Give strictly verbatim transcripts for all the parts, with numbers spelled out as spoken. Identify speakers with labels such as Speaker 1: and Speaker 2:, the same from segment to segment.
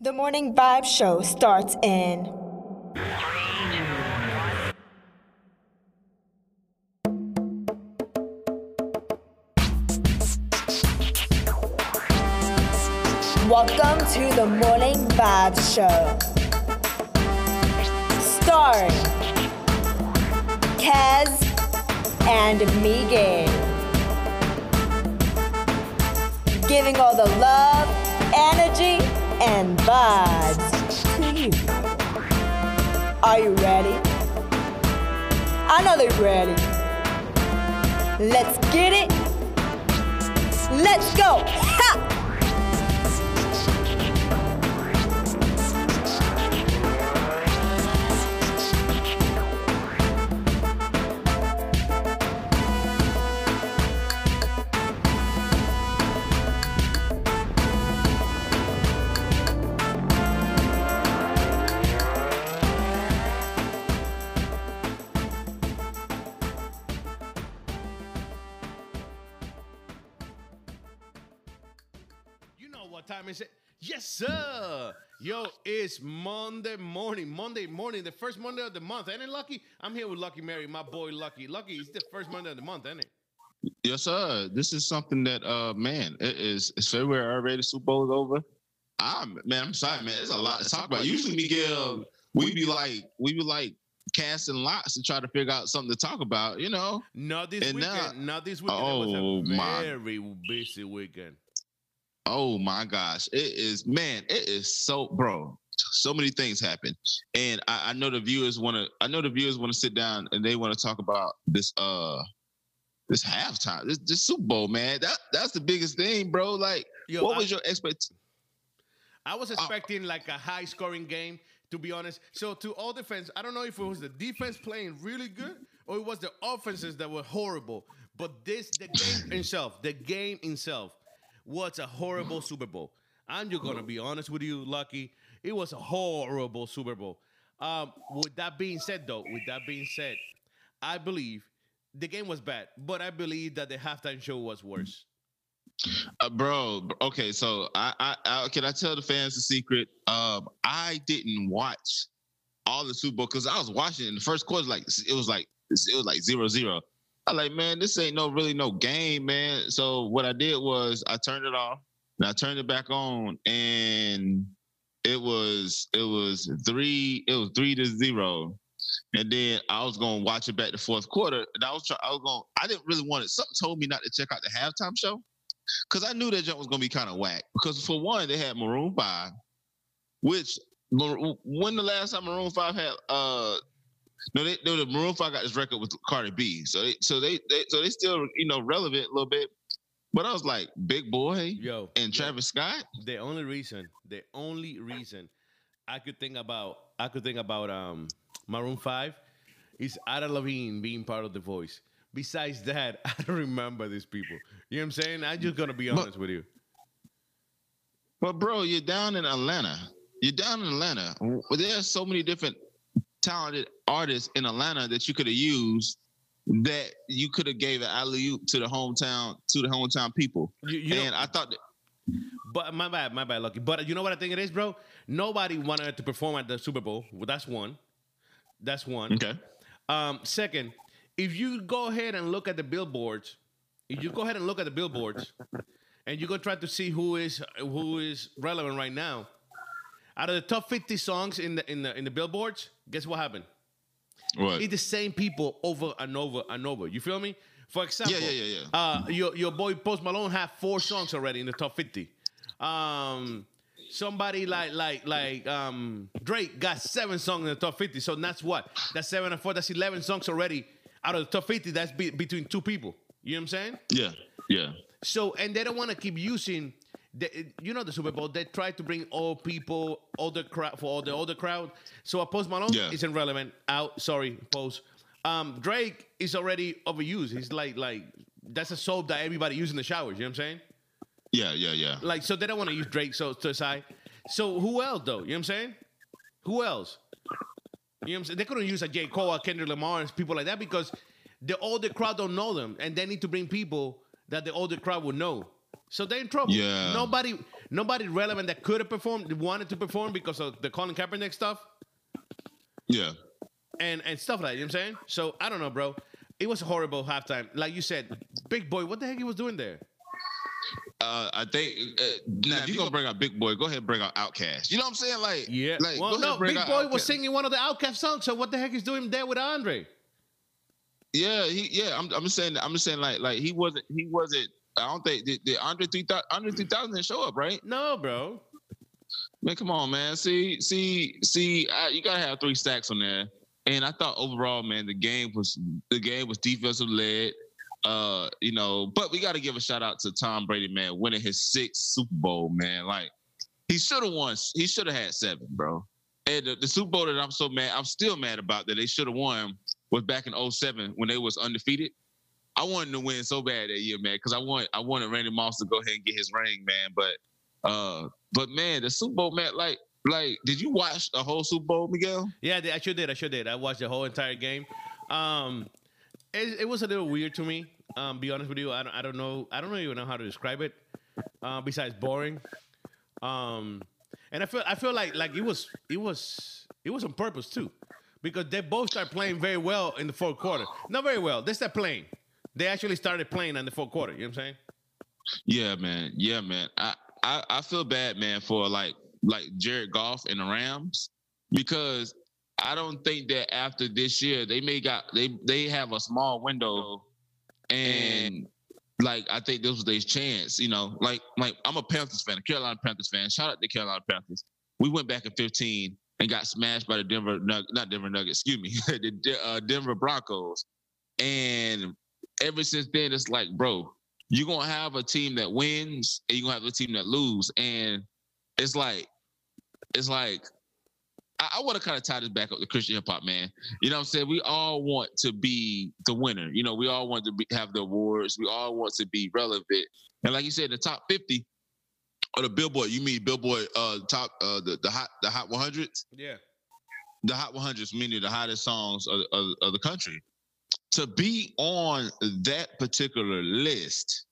Speaker 1: The Morning Vibe Show starts in Welcome to the Morning Vibe Show. Starring Kaz and Miguel. Giving all the love, energy, and vibes to you. Are you ready? I know they're ready. Let's get it. Let's go. Ha!
Speaker 2: What time is it? Yes, sir. Yo, it's Monday morning. Monday morning, the first Monday of the month. Ain't it, Lucky? I'm here with Lucky Mary, my boy Lucky. Lucky, it's the first Monday of the month, ain't it?
Speaker 3: Yes, sir. This is something that, uh, man, it is. It's February already. The Super Bowl is over. I'm man. I'm sorry, man. There's a lot to talk about. Usually, Miguel, we be like, we be like casting lots to try to figure out something to talk about. You know.
Speaker 2: Not this
Speaker 3: and
Speaker 2: weekend.
Speaker 3: Now,
Speaker 2: Not this weekend.
Speaker 3: Oh,
Speaker 2: it was a
Speaker 3: my.
Speaker 2: very busy weekend.
Speaker 3: Oh my gosh, it is, man, it is so, bro, so many things happen. And I, I know the viewers want to, I know the viewers want to sit down and they want to talk about this, uh, this halftime, this, this Super Bowl, man. That That's the biggest thing, bro. Like, Yo, what I, was your expectation?
Speaker 2: I was expecting uh, like a high scoring game, to be honest. So to all defense, I don't know if it was the defense playing really good or it was the offenses that were horrible. But this, the game itself, the game itself, was a horrible Super Bowl. I'm just going to be honest with you, Lucky. It was a horrible Super Bowl. Um, with that being said, though, with that being said, I believe the game was bad, but I believe that the halftime show was worse.
Speaker 3: Uh, bro, okay, so I, I, I can I tell the fans the secret? Um, I didn't watch all the Super Bowl because I was watching it in the first quarter. Like it was like it was like zero zero. I like, man, this ain't no really no game, man. So what I did was I turned it off and I turned it back on, and it was it was three it was three to zero, and then I was gonna watch it back the fourth quarter, and I was try, I was going I didn't really want it. Something told me not to check out the halftime show because I knew that jump was gonna be kind of whack. Because for one, they had Maroon Five, which when the last time Maroon Five had uh. No, they, no, the Maroon Five got this record with Cardi B, so they, so they, they, so they still, you know, relevant a little bit. But I was like, Big Boy,
Speaker 2: yo,
Speaker 3: and Travis
Speaker 2: yo,
Speaker 3: Scott.
Speaker 2: The only reason, the only reason I could think about, I could think about um Maroon Five, is Adam Levine being part of The Voice. Besides that, I don't remember these people. You know what I'm saying? I'm just gonna be honest
Speaker 3: but,
Speaker 2: with you.
Speaker 3: But bro, you're down in Atlanta. You're down in Atlanta. There's so many different talented artists in Atlanta that you could have used, that you could have gave an alley-oop to the hometown to the hometown people. You, you and know, I thought that.
Speaker 2: But my bad, my bad, Lucky. But you know what I think it is, bro? Nobody wanted to perform at the Super Bowl. Well, that's one. That's one.
Speaker 3: Okay.
Speaker 2: Um, second, if you go ahead and look at the billboards, if you go ahead and look at the billboards, and you go try to see who is who is relevant right now. Out of the top fifty songs in the in the in the billboards, guess what happened?
Speaker 3: What?
Speaker 2: It's the same people over and over and over. You feel me? For example,
Speaker 3: yeah, yeah, yeah, yeah.
Speaker 2: Uh, your your boy Post Malone had four songs already in the top fifty. Um, somebody like like like um, Drake got seven songs in the top fifty. So that's what? That's seven and four. That's eleven songs already out of the top fifty. That's be, between two people. You know what I'm saying?
Speaker 3: Yeah, yeah.
Speaker 2: So and they don't want to keep using. The, you know the Super Bowl, they try to bring all people, older crowd for all the older crowd. So a Post Malone
Speaker 3: yeah.
Speaker 2: isn't relevant. Out, sorry, Post. Um, Drake is already overused. He's like, like that's a soap that everybody uses in the showers. You know what I'm saying?
Speaker 3: Yeah, yeah, yeah.
Speaker 2: Like, so they don't want to use Drake. So to the side. So who else though? You know what I'm saying? Who else? You know what I'm saying? They couldn't use a J. Cole, a Kendrick Lamar, and people like that because the older crowd don't know them, and they need to bring people that the older crowd would know. So they're in trouble.
Speaker 3: Yeah.
Speaker 2: Nobody, nobody relevant that could have performed wanted to perform because of the Colin Kaepernick stuff.
Speaker 3: Yeah.
Speaker 2: And and stuff like that, you know what I'm saying? So I don't know, bro. It was a horrible halftime. Like you said, Big Boy, what the heck he was doing there?
Speaker 3: Uh, I think uh, now if you're gonna bring out Big Boy, go ahead and bring out Outkast. You know what I'm saying? Like,
Speaker 2: Yeah.
Speaker 3: like,
Speaker 2: well,
Speaker 3: go ahead
Speaker 2: no,
Speaker 3: and bring
Speaker 2: Big
Speaker 3: out
Speaker 2: Boy was
Speaker 3: Outkast.
Speaker 2: singing one of the Outkast songs. So what the heck is doing there with Andre?
Speaker 3: Yeah, he, yeah. I'm, I'm just saying. I'm just saying. Like, like he wasn't. He wasn't. I don't think did, did Andre three thousand. Andre three thousand didn't show up, right?
Speaker 2: No, bro.
Speaker 3: Man, come on, man. See, see, see. I, you gotta have three stacks on there. And I thought overall, man, the game was the game was defensive led. Uh, you know, but we got to give a shout out to Tom Brady, man, winning his sixth Super Bowl, man. Like he should have won. He should have had seven, bro. And the, the Super Bowl that I'm so mad, I'm still mad about that they should have won was back in oh seven when they was undefeated. I wanted to win so bad that year, man, because I want I wanted Randy Moss to go ahead and get his ring, man. But uh, but man, the Super Bowl, man, like like, did you watch a whole Super Bowl, Miguel?
Speaker 2: Yeah, I sure did. I sure did. I watched the whole entire game. Um, it, it was a little weird to me. Um, be honest with you, I don't, I don't know. I don't even know how to describe it. Uh, besides boring. Um, and I feel I feel like like it was it was it was on purpose too, because they both started playing very well in the fourth quarter. Not very well. They started playing. They actually started playing in the fourth quarter. You know what I'm saying?
Speaker 3: Yeah, man. Yeah, man. I I, I feel bad, man, for like like Jared Goff and the Rams, because I don't think that after this year they may got they they have a small window, and like I think this was their chance. You know, like like I'm a Panthers fan, a Carolina Panthers fan. Shout out to Carolina Panthers. We went back in fifteen and got smashed by the Denver Nug- not Denver Nuggets, excuse me, the De- uh, Denver Broncos, and ever since then it's like, bro, you're gonna have a team that wins and you're gonna have a team that lose, and it's like it's like. I want to kind of tie this back up to Christian hip hop, man. You know what I'm saying? We all want to be the winner. You know, we all want to be, have the awards. We all want to be relevant. And like you said, the top fifty or the Billboard, you mean Billboard uh, top, uh, the, the hot the hot one hundreds?
Speaker 2: Yeah.
Speaker 3: The hot one hundreds, meaning the hottest songs of, of, of the country. To be on that particular list,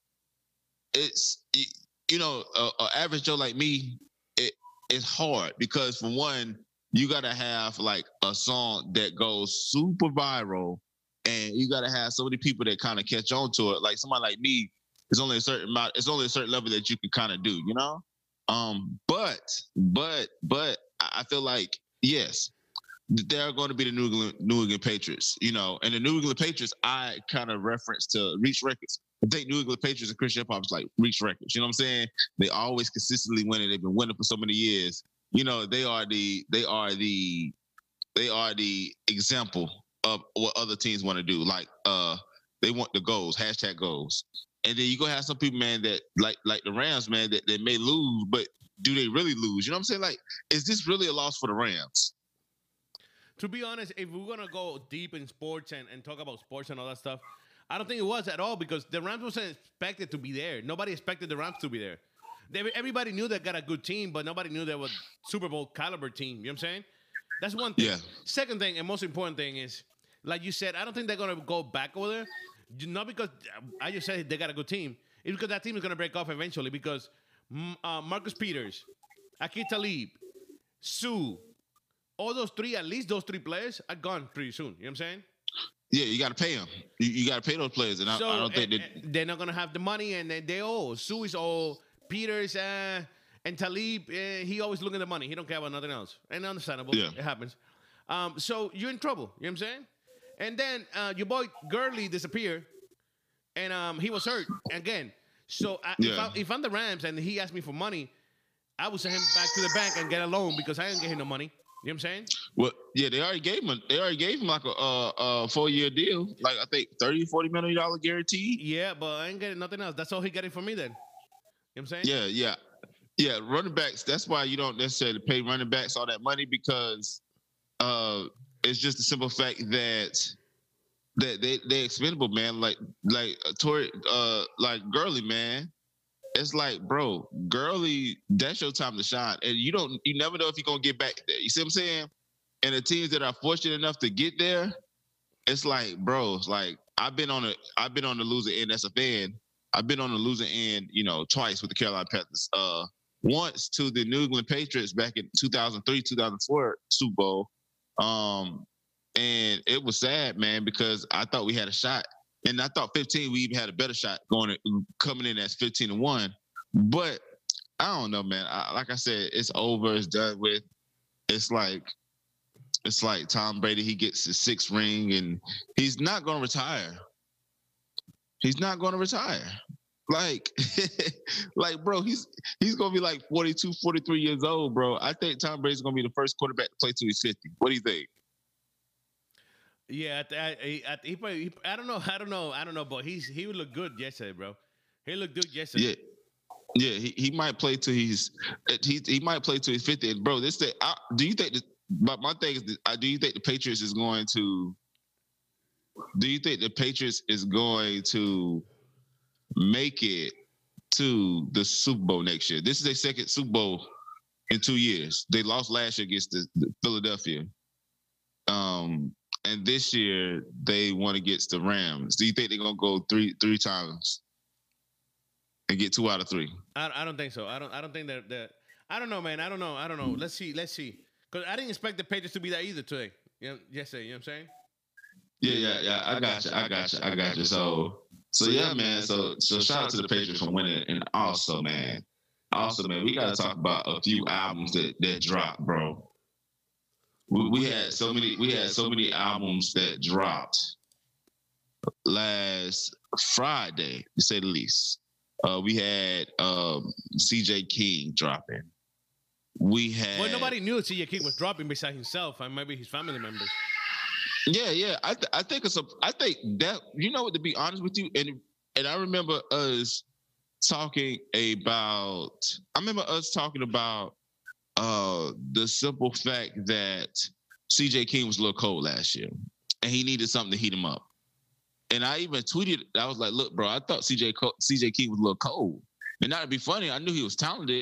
Speaker 3: it's, you know, an average Joe like me, it, it's hard because for one, you gotta have like a song that goes super viral, and you gotta have so many people that kind of catch on to it. Like somebody like me, it's only a certain amount, it's only a certain level that you can kind of do, you know? Um, but but but I feel like yes, they're going to be the New England New England Patriots, you know, and the New England Patriots I kind of reference to Reach Records. I think New England Patriots and Christian hip hop is like Reach Records. You know what I'm saying? They always consistently winning. They've been winning for so many years. You know, they are the they are the they are the example of what other teams want to do. Like uh they want the goals, hashtag goals. And then you gonna have some people, man, that like like the Rams, man, that, that may lose, but do they really lose? You know what I'm saying? Like, is this really a loss for the Rams?
Speaker 2: To be honest, if we're gonna go deep in sports and, and talk about sports and all that stuff, I don't think it was at all, because the Rams wasn't expected to be there. Nobody expected the Rams to be there. They, everybody knew they got a good team, but nobody knew they were Super Bowl caliber team. You know what I'm saying? That's one thing.
Speaker 3: Yeah.
Speaker 2: Second thing, and most important thing is, like you said, I don't think they're going to go back over there. Not because I just said they got a good team. It's because that team is going to break off eventually, because mm, uh, Marcus Peters, Aqib Talib, Sue, all those three, at least those three players are gone pretty soon. You know what I'm saying?
Speaker 3: Yeah, you got to pay them. You, you got to pay those players, and I,
Speaker 2: So,
Speaker 3: I don't think
Speaker 2: and,
Speaker 3: that
Speaker 2: and they're not going to have the money, and they, they owe. Sue is old. Peters uh, and Talib, uh, he always looking at the money. He don't care about nothing else. And understandable.
Speaker 3: Yeah.
Speaker 2: It happens. Um, so you're in trouble. You know what I'm saying? And then uh, your boy Gurley disappeared, and um, he was hurt again. So I,
Speaker 3: Yeah.
Speaker 2: if, I, if I'm the Rams and he asked me for money, I would send him back to the bank and get a loan, because I ain't get him no money. You know what I'm saying?
Speaker 3: well, yeah, they already gave him. A, they already gave him like a, a, a four year deal, like I think thirty, forty million dollar guarantee.
Speaker 2: Yeah, but I ain't getting nothing else. That's all he getting from me then. You know what I'm saying?
Speaker 3: Yeah, yeah, yeah. Running backs. That's why you don't necessarily pay running backs all that money, because uh, it's just the simple fact that that they they expendable, man. Like like uh, Tory, uh, like Gurley, man. It's like, bro, Gurley, that's your time to shine, and you don't, you never know if you're gonna get back there. You see what I'm saying? And the teams that are fortunate enough to get there, it's like, bro, it's like I've been on a, I've been on the losing end as a fan. I've been on the losing end, you know, twice with the Carolina Panthers. Uh, once to the New England Patriots back in two thousand three, two thousand four Super Bowl. Um, and it was sad, man, because I thought we had a shot. And I thought fifteen, we even had a better shot going coming in as fifteen and one. But I don't know, man. I, like I said, it's over. It's done with. It's like it's like Tom Brady. He gets his sixth ring, and he's not going to retire. He's not going to retire. Like, like, bro, he's he's gonna be like forty-two, forty-three years old, bro. I think Tom Brady's gonna be the first quarterback to play till he's fifty. What do you think?
Speaker 2: Yeah, I, I, I, he, probably, he, I don't know, I don't know, I don't know, but he's he would look good yesterday, bro. He looked good yesterday.
Speaker 3: Yeah, yeah, he, he might play till he's he he might play till he's fifty. And bro, this thing, I, do you think? The, but my thing is, I, do you think the Patriots is going to? Do you think the Patriots is going to make it to the Super Bowl next year? This is their second Super Bowl in two years. They lost last year against the, the Philadelphia. Um, and this year they won against the Rams. Do you think they're gonna go three three times and get two out of three?
Speaker 2: I, I don't think so. I don't. I don't think that that. I don't know, man. I don't know. I don't know. Let's see. Let's see. Because I didn't expect the Patriots to be that either today. You know, yesterday. You know what I'm saying?
Speaker 3: Yeah, yeah, yeah. I got you. I got you. I got you. So. So yeah, man. So so shout out to the Patriots for winning, and also, man, also, man, we gotta talk about a few albums that that dropped, bro. We, we had so many. We had so many albums that dropped last Friday, to say the least. Uh, we had um, C J King dropping. We had.
Speaker 2: Well, nobody knew C J King was dropping besides himself and maybe his family members.
Speaker 3: Yeah, yeah. I th- I think it's a. I think that you know what. To be honest with you, and and I remember us talking about. I remember us talking about uh, the simple fact that C J King was a little cold last year, and he needed something to heat him up. And I even tweeted. I was like, "Look, bro, I thought C J Co- C J King was a little cold, and not to be funny, I knew he was talented,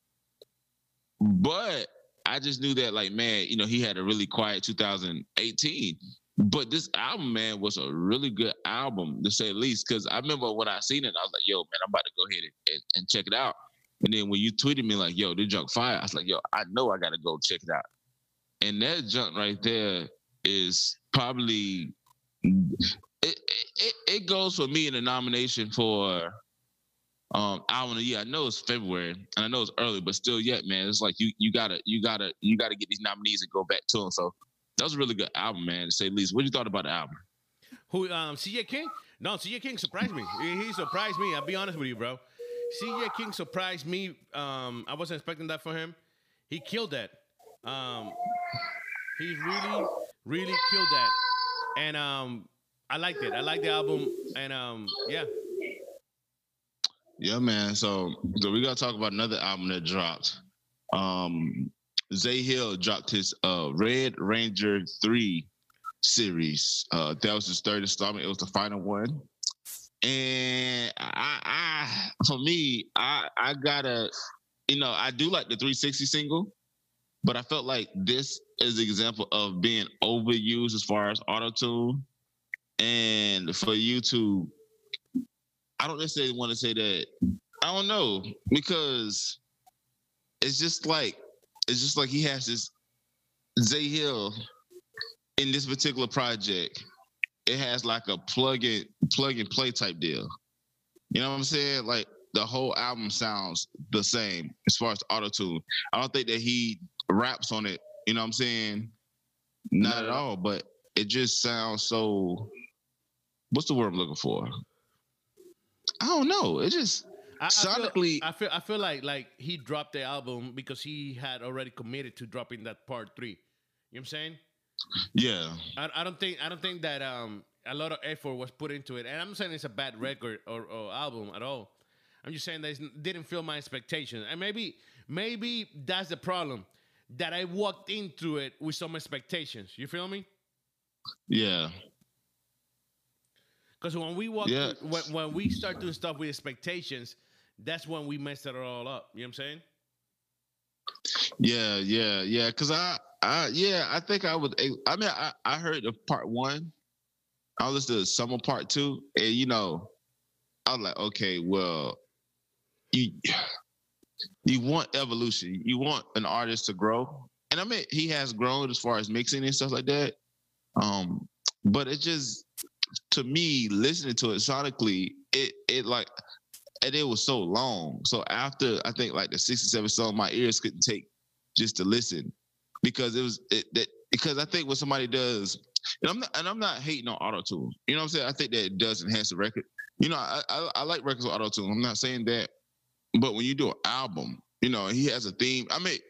Speaker 3: but." I just knew that, like, man, you know, he had a really quiet two thousand eighteen. But this album, man, was a really good album, to say the least. Because I remember when I seen it, I was like, yo, man, I'm about to go ahead and, and, and check it out. And then when you tweeted me, like, yo, this junk fire, I was like, yo, I know I got to go check it out. And that junk right there is probably, it, it, it goes for me in the nomination for Um, album of the year. I know it's February and I know it's early, but still yet, man, it's like you you gotta you gotta you gotta get these nominees and go back to them. So that was a really good album, man, to say the least. What did you thought about the album?
Speaker 2: Who um C J King? No, C J King surprised me. He, he surprised me. I'll be honest with you, bro. C J King surprised me. Um, I wasn't expecting that for him. He killed that. Um, he really, really killed that. And um, I liked it. I liked the album. And um, yeah.
Speaker 3: Yeah, man. So, so we gotta talk about another album that dropped. Um, Zay Hill dropped his uh, Red Ranger three series. Uh, that was his third installment. It was the final one. And I, I for me, I, I gotta, you know, I do like the three sixty single, but I felt like this is an example of being overused as far as auto-tune. And for you to I don't necessarily want to say that. I don't know, because it's just like it's just like he has this Zay Hill in this particular project. It has like a plug in plug and play type deal. You know what I'm saying? Like the whole album sounds the same as far as auto tune. I don't think that he raps on it. You know what I'm saying? Not at all. But it just sounds so. What's the word I'm looking for? I don't know. It just
Speaker 2: I,
Speaker 3: sonically.
Speaker 2: I feel, I feel I feel like like he dropped the album because he had already committed to dropping that part three. You know what I'm saying?
Speaker 3: Yeah.
Speaker 2: I, I don't think I don't think that um a lot of effort was put into it, and I'm not saying it's a bad record or, or album at all. I'm just saying that it didn't fill my expectations, and maybe maybe that's the problem, that I walked into it with some expectations. You feel me?
Speaker 3: Yeah.
Speaker 2: Because when we walk,
Speaker 3: yeah.
Speaker 2: through, when, when we start doing stuff with expectations, that's when we mess it all up. You know what I'm saying?
Speaker 3: Yeah, yeah, yeah. Because I, I, yeah, I think I would. I mean, I, I heard of part one. I listened to some of part two, and you know, I was like, okay, well, you, you want evolution. You want an artist to grow. And I mean, he has grown as far as mixing and stuff like that. Um, but it just, to me, listening to it sonically, it it like, and it was so long. So after I think like the sixty-seven song, my ears couldn't take just to listen because it was it that because I think when somebody does, and I'm not and I'm not hating on auto tune. You know what I'm saying? I think that it does enhance the record. You know, I I, I like records with auto tune. I'm not saying that, but when you do an album, you know, he has a theme. I mean,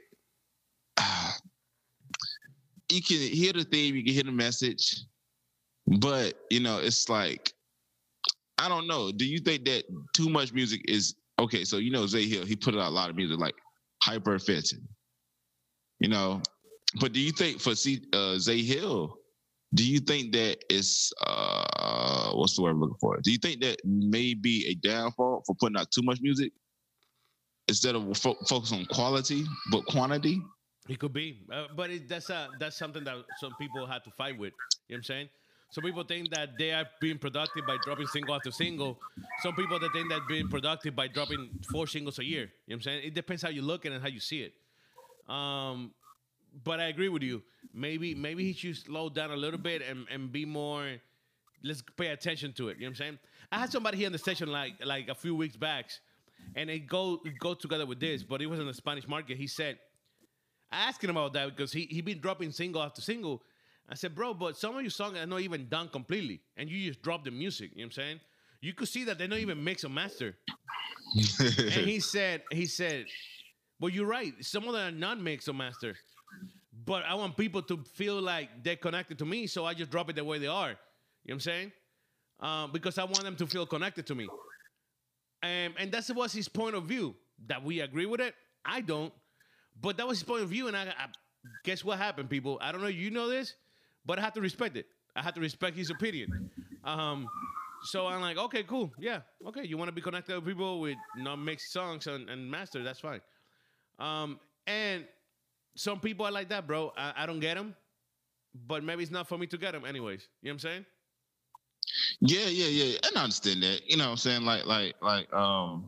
Speaker 3: you can hear the theme, you can hear the message, but you know, it's like, I don't know. Do you think that too much music is okay? So you know, Zay Hill, he put out a lot of music like hyper offensive, you know. But do you think for C, uh, Zay Hill, do you think that it's uh, what's the word I'm looking for? Do you think that may be a downfall for putting out too much music instead of fo- focus on quality but quantity?
Speaker 2: It could be, uh, but it, that's uh, that's something that some people have to fight with. You know what I'm saying? Some people think that they are being productive by dropping single after single. Some people that think that being productive by dropping four singles a year. You know what I'm saying? It depends how you look at it and how you see it. Um, but I agree with you. Maybe maybe he should slow down a little bit and, and be more. Let's pay attention to it. You know what I'm saying? I had somebody here in the station like like a few weeks back, and it go it go together with this. But it was in the Spanish market. He said, I asked him about that because he he been dropping single after single. I said, bro, but some of your songs are not even done completely, and you just drop the music. You know what I'm saying? You could see that they're not even mix or master. And he said, he said, well, you're right. Some of them are not mix or master, but I want people to feel like they're connected to me, so I just drop it the way they are. You know what I'm saying? Um, because I want them to feel connected to me. And, and that was his point of view. That we agree with it? I don't. But that was his point of view, and I, I guess what happened, people? I don't know if you know this, but I have to respect it. I have to respect his opinion. Um, so I'm like, okay, cool. Yeah, okay. You want to be connected with people with not mixed songs and, and master, that's fine. Um, and some people are like that, bro. I, I don't get them, but maybe it's not for me to get them anyways. You know what I'm saying?
Speaker 3: Yeah, yeah, yeah. And I understand that. You know what I'm saying? Like, like, like, um,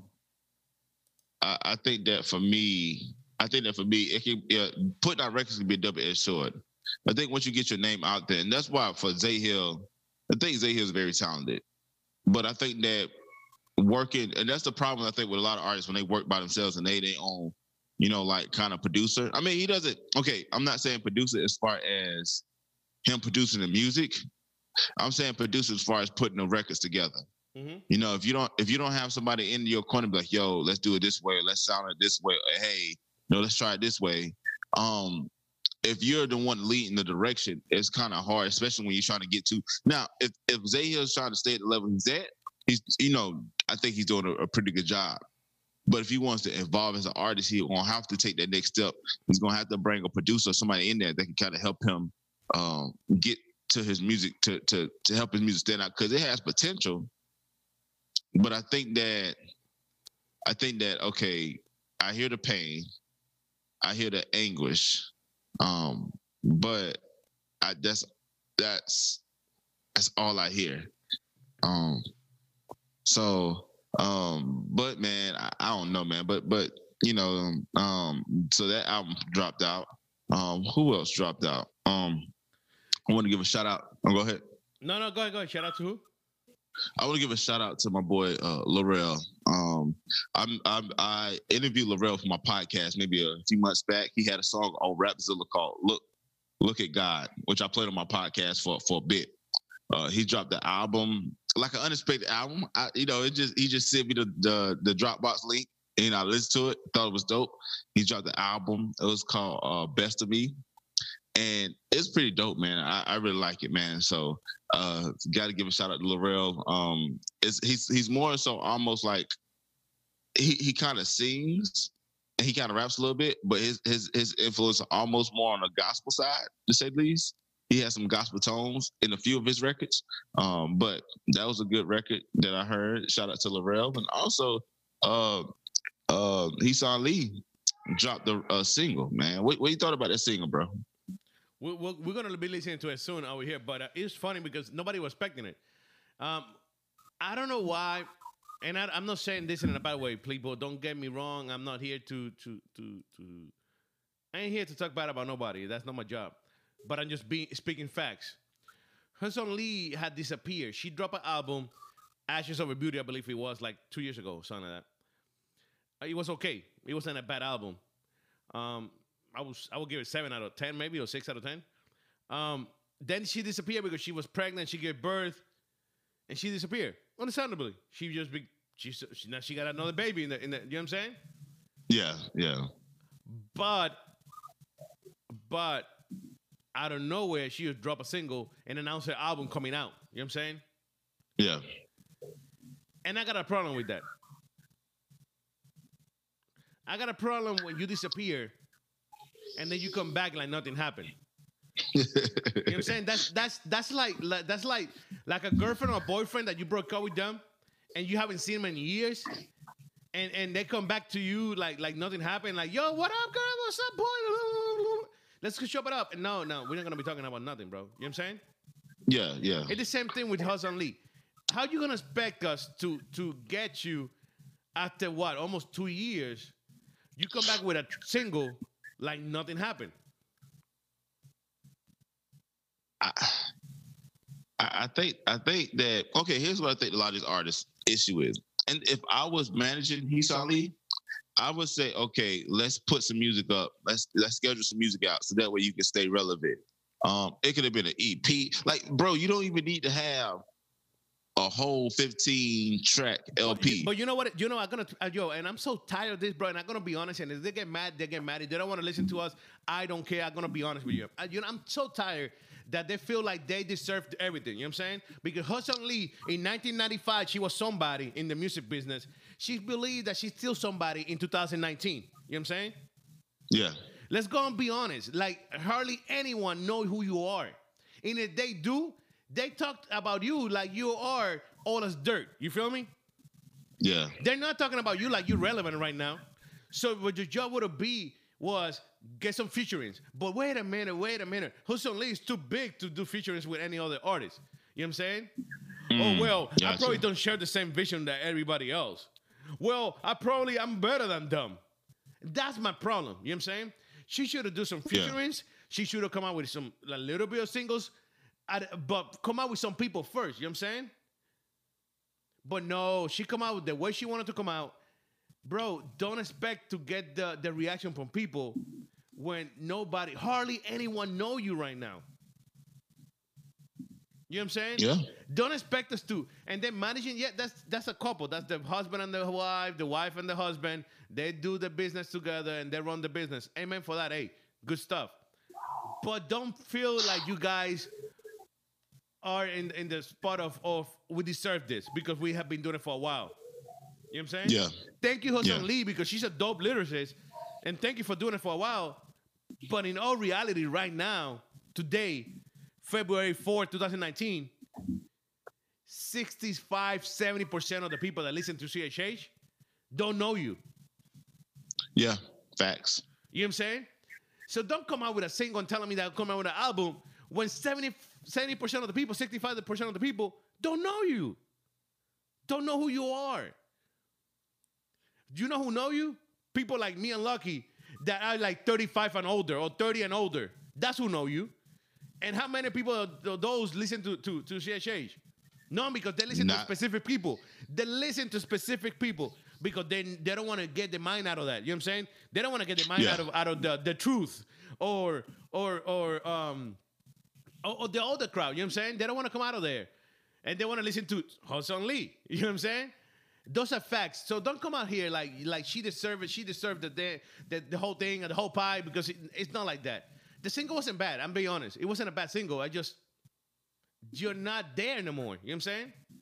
Speaker 3: I, I think that for me, I think that for me, it can, yeah, putting out records can be a double-edged sword. I think once you get your name out there, and that's why for Zay Hill, I think Zay Hill is very talented. But I think that working, and that's the problem I think with a lot of artists when they work by themselves and they they own, you know, like kind of producer. I mean, he doesn't. Okay, I'm not saying producer as far as him producing the music. I'm saying producer as far as putting the records together. Mm-hmm. You know, if you don't if you don't have somebody in your corner be like, yo, let's do it this way, let's sound it this way, or, hey, no, let's try it this way. Um, if you're the one leading the direction, it's kind of hard, especially when you're trying to get to. Now, if if Zay Hill's trying to stay at the level he's at, he's you know, I think he's doing a, a pretty good job. But if he wants to evolve as an artist, he's gonna have to take that next step. He's gonna have to bring a producer, somebody in there that can kind of help him um, get to his music, to to to help his music stand out, because it has potential. But I think that I think that okay, I hear the pain, I hear the anguish, um, but I that's that's that's all I hear. Um, so, um, but man, I, I don't know, man. But but you know, um, so that album dropped out. Um, who else dropped out? Um, I want to give a shout out. Oh, go ahead.
Speaker 2: No, no, go ahead, go ahead. Shout out to who?
Speaker 3: I want to give a shout out to my boy uh, Laurel. Um, I'm, I'm I interviewed Laurel for my podcast maybe a few months back. He had a song on Rapzilla called "Look Look at God," which I played on my podcast for for a bit. Uh, he dropped the album, like an unexpected album. I, you know, it just he just sent me the the, the Dropbox link, and I listened to it. Thought it was dope. He dropped the album. It was called uh, "Best of Me." And it's pretty dope, man. I, I really like it, man. So uh got to give a shout out to Laurel. Um, it's, he's he's more so almost like he he kind of sings and he kind of raps a little bit, but his his his influence is almost more on the gospel side, to say the least. He has some gospel tones in a few of his records. Um, but that was a good record that I heard. Shout out to Laurel. And also uh uh Heesan Lee dropped a, a single, man. What what you thought about that single, bro?
Speaker 2: We're, we're going to be listening to it soon over here, but uh, it's funny because nobody was expecting it. Um, I don't know why and I, I'm not saying this in a bad way, people. Don't get me wrong. I'm not here to to to to. I ain't here to talk bad about nobody. That's not my job. But I'm just being speaking facts. Hudson Lee had disappeared. She dropped an album, Ashes Over Beauty, I believe it was like two years ago, something like that. It was okay. It wasn't a bad album. Um, I was I would give it seven out of ten, maybe, or six out of ten. Um, then she disappeared because she was pregnant. She gave birth, and she disappeared. Understandably, she just be she, she now she got another baby in the in the. You know what I'm saying?
Speaker 3: Yeah, yeah.
Speaker 2: But but out of nowhere, she would drop a single and announce her album coming out. You know what I'm saying?
Speaker 3: Yeah.
Speaker 2: And I got a problem with that. I got a problem when you disappear and then you come back like nothing happened. You know what I'm saying? That's that's that's like, like that's like like a girlfriend or a boyfriend that you broke up with them and you haven't seen them in years, and and they come back to you like like nothing happened. Like, yo, what up, girl? What's up, boy? Let's go shop it up. And no, no, we're not gonna be talking about nothing, bro. You know what I'm saying?
Speaker 3: Yeah, yeah.
Speaker 2: It's the same thing with Hudson Lee. How you gonna expect us to to get you after what, almost two years? You come back with a single like nothing happened.
Speaker 3: I, I think I think that okay. Here's what I think a lot of these artists' issue is, and if I was managing Hudson Lee, I would say, okay, let's put some music up. Let's let's schedule some music out so that way you can stay relevant. Um, it could have been an E P. Like, bro, you don't even need to have a whole fifteen track L P.
Speaker 2: But you know what? You know, I'm gonna uh, yo, and I'm so tired of this, bro. And I'm gonna be honest. And if they get mad, they get mad. If they don't want to listen to us, I don't care. I'm gonna be honest with you. I, you know, I'm so tired that they feel like they deserve everything. You know what I'm saying? Because Hudson Lee, in nineteen ninety-five, she was somebody in the music business. She believed that she's still somebody in two thousand nineteen. You know what I'm saying?
Speaker 3: Yeah.
Speaker 2: Let's go and be honest. Like, hardly anyone know who you are. And if they do, they talk about you like you are all as dirt. You feel me?
Speaker 3: Yeah.
Speaker 2: They're not talking about you like you're relevant right now. So what your job would be was get some featurings. But wait a minute, wait a minute. Hudson Lee is too big to do featurings with any other artist. You know what I'm saying?
Speaker 3: Mm,
Speaker 2: oh, well,
Speaker 3: gotcha.
Speaker 2: I probably don't share the same vision that everybody else. Well, I probably I'm better than them. That's my problem. You know what I'm saying? She should have done some featurings. Yeah. She should have come out with some a little bit of singles. But come out with some people first, you know what I'm saying? But no, she come out with the way she wanted to come out. Bro, don't expect to get the, the reaction from people when nobody, hardly anyone know you right now. You know what I'm saying?
Speaker 3: Yeah.
Speaker 2: Don't expect us to. And then managing, yeah, that's that's a couple. That's the husband and the wife, the wife and the husband. They do the business together and they run the business. Amen for that. Hey, good stuff. But don't feel like you guys are in, in the spot of, of we deserve this because we have been doing it for a while. You know what I'm saying?
Speaker 3: Yeah.
Speaker 2: Thank you, Hudson
Speaker 3: yeah.
Speaker 2: Lee, because she's a dope lyricist. And thank you for doing it for a while. But in all reality, right now, today, February fourth, twenty nineteen, sixty-five, seventy percent of the people that listen to C H H don't know you.
Speaker 3: Yeah, facts.
Speaker 2: You know what I'm saying? So don't come out with a single and telling me that I'll come out with an album when seventy, seventy percent of the people, sixty-five percent of the people don't know you. Don't know who you are. Do you know who know you? People like me and Lucky that are like thirty-five and older or thirty and older. That's who know you. And how many people of those listen to, to, to C H H? No, because they listen
Speaker 3: Not-
Speaker 2: to specific people. They listen to specific people because they, they don't want to get the mind out of that. You know what I'm saying? They don't want to get the mind
Speaker 3: Yeah.
Speaker 2: out of out of the, the truth or or or um or, or the older crowd. You know what I'm saying? They don't want to come out of there. And they want to listen to Hudson Lee. You know what I'm saying? Those are facts. So don't come out here like like she deserved it. She deserved the the, the whole thing and the whole pie because it, it's not like that. The single wasn't bad. I'm being honest. It wasn't a bad single. I just, you're not there no more. You know what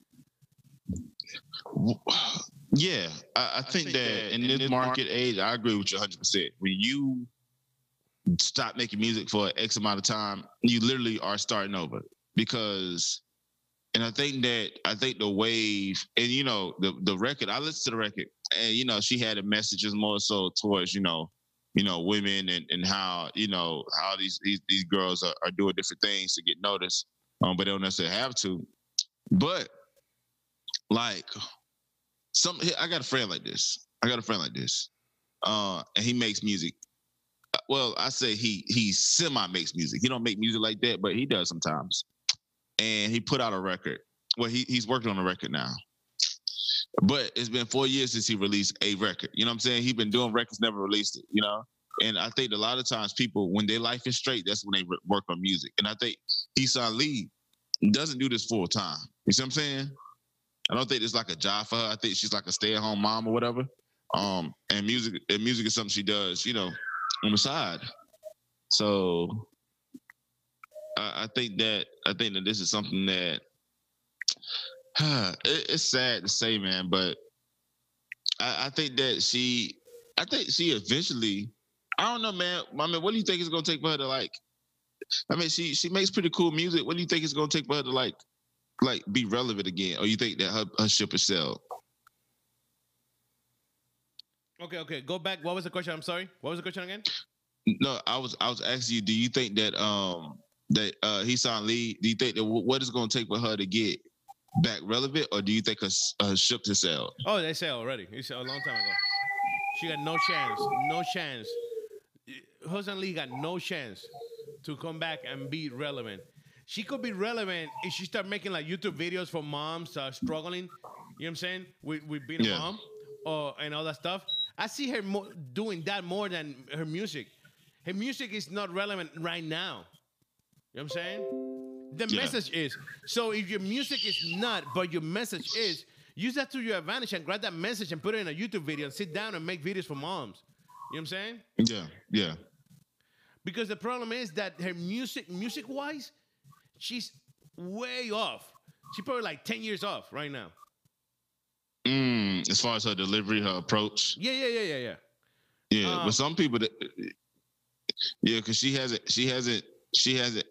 Speaker 2: I'm saying?
Speaker 3: Yeah, I, I, think, think that, that in, in this, this market, market age, I agree with you one hundred percent. When you stop making music for X amount of time, you literally are starting over. Because, and I think that, I think the wave, and you know, the, the record, I listened to the record, and you know, she had a messages more so towards, you know, you know, women and, and how, you know, how these these, these girls are, are doing different things to get noticed, um, but they don't necessarily have to. But, like, some I got a friend like this. I got a friend like this. Uh, and he makes music. Well, I say he he semi makes music. He don't make music like that, but he does sometimes. And he put out a record. Well, he he's working on a record now. But it's been four years since he released a record. You know what I'm saying? He's been doing records, never released it, you know? And I think a lot of times people, when their life is straight, that's when they re- work on music. And I think Esau Lee doesn't do this full time. You see what I'm saying? I don't think it's like a job for her. I think she's like a stay-at-home mom or whatever. Um, and music and music is something she does, you know, on the side. So I, I think that I think that this is something that it, it's sad to say, man, but I, I think that she I think she eventually I don't know, man. I mean, what do you think it's gonna take for her to like? I mean, she she makes pretty cool music. What do you think it's gonna take for her to like, like be relevant again? Or you think that her, her ship is sailed?
Speaker 2: Okay, okay. Go back. What was the question? I'm sorry. What was the question again?
Speaker 3: No, I was I was asking you. Do you think that um that uh Heesan Lee? Do you think that w- what is going to take for her to get back relevant, or do you think her, her ship is sailed?
Speaker 2: Oh, they sailed already. It's a long time ago. She got no chance. No chance. Heesan Lee got no chance to come back and be relevant. She could be relevant if she start making like YouTube videos for moms uh, struggling. You know what I'm saying? With, with being a
Speaker 3: Yeah.
Speaker 2: mom or and all that stuff. I see her mo- doing that more than her music. Her music is not relevant right now. You know what I'm saying? The
Speaker 3: Yeah.
Speaker 2: message is. So if your music is not, but your message is, use that to your advantage and grab that message and put it in a YouTube video and sit down and make videos for moms. You know what I'm saying?
Speaker 3: Yeah, yeah.
Speaker 2: Because the problem is that her music, music-wise, she's way off. She's probably like ten years off right now.
Speaker 3: Mm, as far as her delivery, her approach.
Speaker 2: Yeah, yeah, yeah, yeah, yeah.
Speaker 3: Yeah,
Speaker 2: Um,
Speaker 3: but some people that yeah, because she hasn't she hasn't she hasn't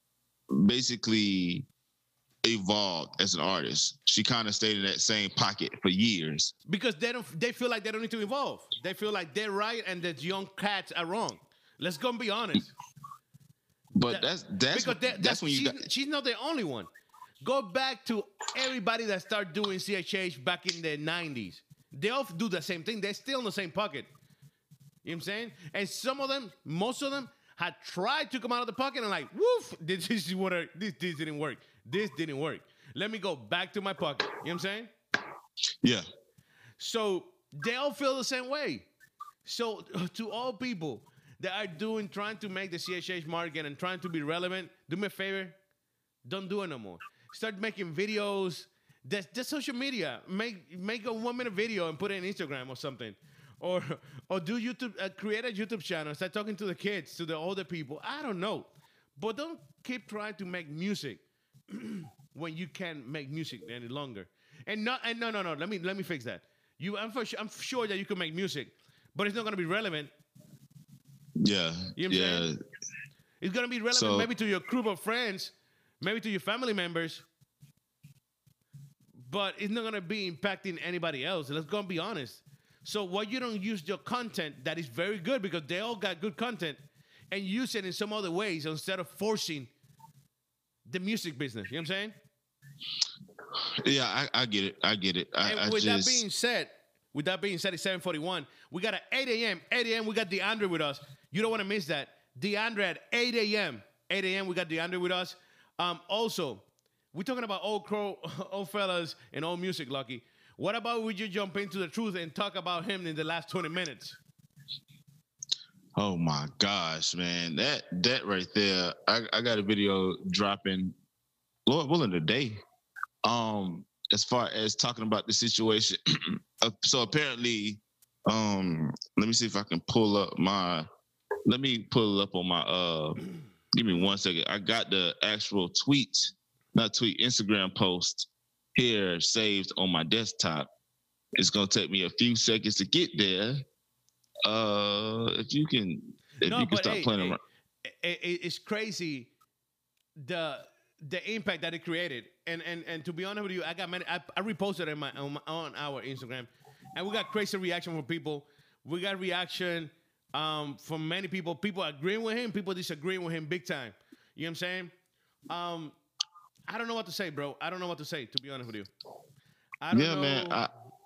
Speaker 3: basically evolved as an artist. She kind of stayed in that same pocket for years.
Speaker 2: Because they don't, they feel like they don't need to evolve. They feel like they're right and the young cats are wrong. Let's go and be honest.
Speaker 3: But
Speaker 2: That-
Speaker 3: that's that's
Speaker 2: because they-
Speaker 3: that's when you
Speaker 2: she's,
Speaker 3: got
Speaker 2: she's not the only one. Go back to everybody that started doing C H H back in the nineties. They all do the same thing. They're still in the same pocket. You know what I'm saying? And some of them, most of them, had tried to come out of the pocket and like, woof, this is what I, this this didn't work. This didn't work. Let me go back to my pocket. You know what I'm saying?
Speaker 3: yeah.
Speaker 2: So they all feel the same way. So to all people that are doing, trying to make the C H H market and trying to be relevant, do me a favor, don't do it no more. Start making videos. That's, that's social media. Make make a one minute video and put it in Instagram or something, or or do YouTube. Uh, create a YouTube channel. Start talking to the kids, to the older people. I don't know, but don't keep trying to make music when you can't make music any longer. And not and no no no. Let me let me fix that. You, I'm for sure, I'm sure that you can make music, but it's not gonna be relevant.
Speaker 3: Yeah.
Speaker 2: You know what I'm
Speaker 3: yeah.
Speaker 2: saying? It's gonna be relevant
Speaker 3: So-
Speaker 2: maybe to your group of friends, maybe to your family members, but it's not gonna be impacting anybody else. Let's go and be honest. So why you don't use your content that is very good, because they all got good content, and use it in some other ways instead of forcing the music business. You know what I'm saying?
Speaker 3: Yeah, I, I get it. I get it. I,
Speaker 2: And
Speaker 3: I
Speaker 2: with
Speaker 3: just
Speaker 2: that being said, with that being said, it's seven forty-one. We got at eight a.m. eight a.m. we got DeAndre with us. You don't want to miss that. DeAndre at eight a.m. eight a.m. we got DeAndre with us. Um, also, we're talking about old crow, old fellas and old music, Lucky. What about we just jump into the truth and talk about him in the last twenty minutes?
Speaker 3: oh my gosh, man. That that right there. I, I got a video dropping Lord willing today. Um, as far as talking about the situation. Uh, so apparently, um, let me see if I can pull up my let me pull it up on my uh give me one second. I got the actual tweet, not tweet, Instagram post here saved on my desktop. It's gonna take me a few seconds to get there. Uh if you can if
Speaker 2: No,
Speaker 3: you can
Speaker 2: but
Speaker 3: stop
Speaker 2: hey,
Speaker 3: playing
Speaker 2: hey,
Speaker 3: around.
Speaker 2: it- it- it's crazy the the impact that it created. And and and to be honest with you, I got many. I, I reposted it in my, on, my, on our Instagram, and we got crazy reaction from people. We got reaction um, from many people. People agreeing with him, people disagreeing with him big time. You know what I'm saying? Um, I don't know what to say, bro. I don't know what to say, to be honest with you. I don't
Speaker 3: Yeah,
Speaker 2: know.
Speaker 3: man. I,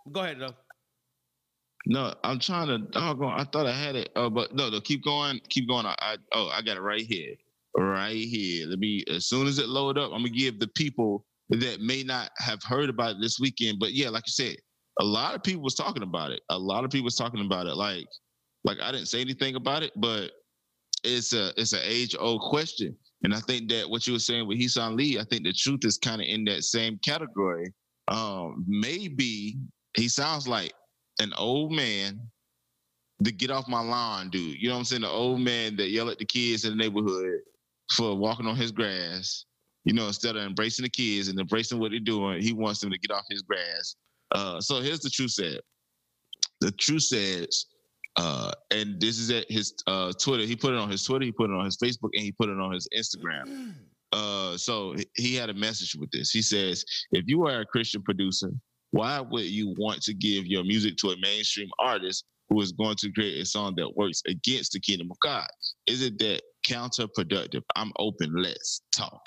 Speaker 2: Go ahead, though.
Speaker 3: No, I'm trying to. Doggone, I thought I had it. Oh, but no, no, keep going, keep going. I, I oh, I got it right here, right here. Let me. As soon as it load up, I'm gonna give the people that may not have heard about it this weekend. But yeah, like you said, a lot of people was talking about it. A lot of people was talking about it. Like, like I didn't say anything about it, but it's a it's an age old question. And I think that what you were saying with Heesan Lee, I think the truth is kind of in that same category. Um, maybe he sounds like an old man, the get off my lawn dude. You know what I'm saying? The old man that yell at the kids in the neighborhood for walking on his grass. You know, instead of embracing the kids and embracing what they're doing, he wants them to get off his grass. Uh, so here's the truth said. The truth says, uh, and this is at his uh, Twitter. He put it on his Twitter, he put it on his Facebook, and he put it on his Instagram. Uh, so he had a message with this. He says, if you are a Christian producer, why would you want to give your music to a mainstream artist who is going to create a song that works against the kingdom of God? Is it that counterproductive? I'm open. Let's talk.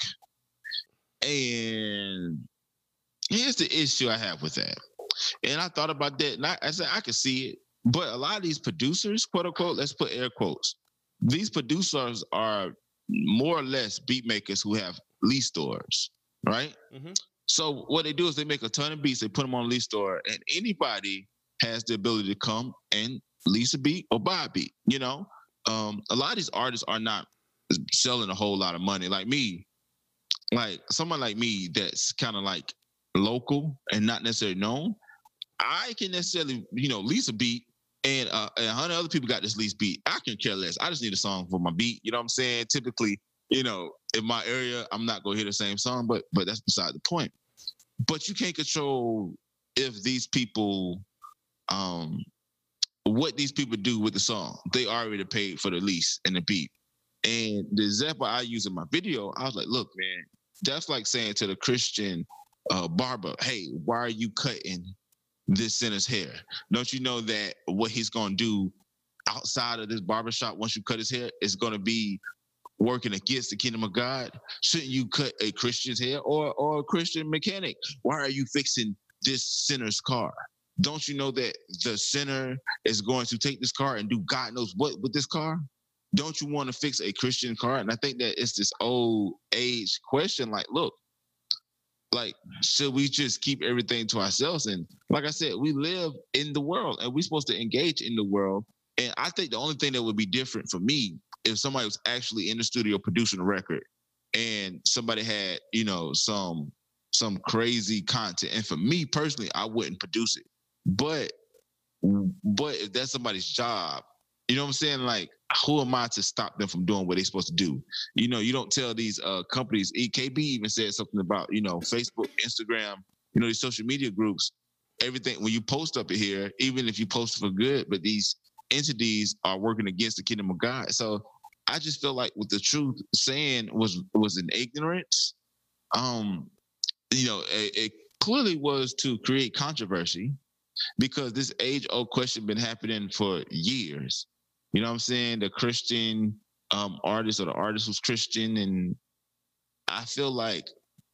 Speaker 3: And here's the issue I have with that. And I thought about that. And I, I said, I could see it. But a lot of these producers, quote unquote, let's put air quotes, these producers are more or less beat makers who have lease stores, right? Mm-hmm. So what they do is they make a ton of beats, they put them on a lease store, and anybody has the ability to come and lease a beat or buy a beat. You know, um, a lot of these artists are not selling a whole lot of money. Like me, like someone like me that's kind of like local and not necessarily known, I can necessarily, you know, lease a beat, and uh, a hundred other people got this lease beat. I can care less. I just need a song for my beat. You know what I'm saying? Typically, you know, in my area, I'm not gonna hear the same song, but but that's beside the point. But you can't control if these people, um, what these people do with the song. They already paid for the lease and the beat. And the example I use in my video, I was like, look, man, that's like saying to the Christian uh, barber, hey, why are you cutting this sinner's hair? Don't you know that what he's going to do outside of this barbershop once you cut his hair is going to be working against the kingdom of God? Shouldn't you cut a Christian's hair or, or a Christian mechanic? Why are you fixing this sinner's car? Don't you know that the sinner is going to take this car and do God knows what with this car? Don't you want to fix a Christian car? And I think that it's this old age question, like, look, like, should we just keep everything to ourselves? And like I said, we live in the world and we're supposed to engage in the world. And I think the only thing that would be different for me if somebody was actually in the studio producing a record and somebody had, you know, some some crazy content. And for me personally, I wouldn't produce it. But but if that's somebody's job, you know what I'm saying? Like, who am I to stop them from doing what they're supposed to do? You know, you don't tell these uh, companies. E K B even said something about, you know, Facebook, Instagram, you know, these social media groups, everything. When you post up here, even if you post for good, but these entities are working against the kingdom of God. So I just feel like what the truth saying was was an ignorance. Um, you know, it, it clearly was to create controversy because this age-old question been happening for years. You know what I'm saying? The Christian um, artist or the artist who's Christian. And I feel like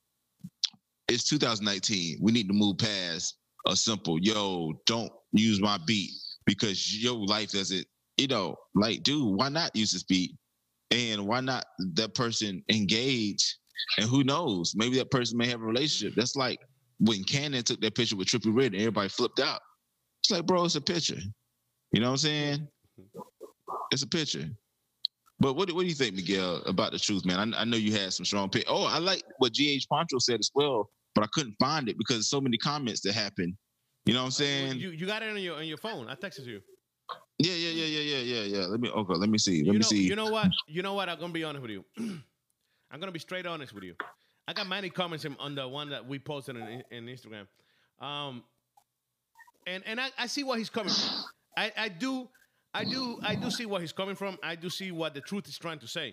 Speaker 3: it's two thousand nineteen. We need to move past a simple, yo, don't use my beat because your life doesn't, you know, like, dude, why not use this beat? And why not that person engage? And who knows? Maybe that person may have a relationship. That's like when Cannon took that picture with Trippie Redd and everybody flipped out. It's like, bro, it's a picture. You know what I'm saying? It's a picture. But what, what do you think, Miguel, about the truth, man? I, I know you had some strong pick. Oh, I like what G H Poncho said as well, but I couldn't find it because there's so many comments that happened. You know what I'm saying?
Speaker 2: You you got it on your on your phone. I texted you.
Speaker 3: Yeah, yeah, yeah, yeah, yeah, yeah, yeah. Let me okay, let me see. Let
Speaker 2: you
Speaker 3: me
Speaker 2: know,
Speaker 3: see.
Speaker 2: You know what? You know what? I'm gonna be honest with you. I'm gonna be straight honest with you. I got many comments on the one that we posted in, in Instagram. Um and and I, I see what he's coming from. I, I do I do I do see where he's coming from. I do see what the truth is trying to say.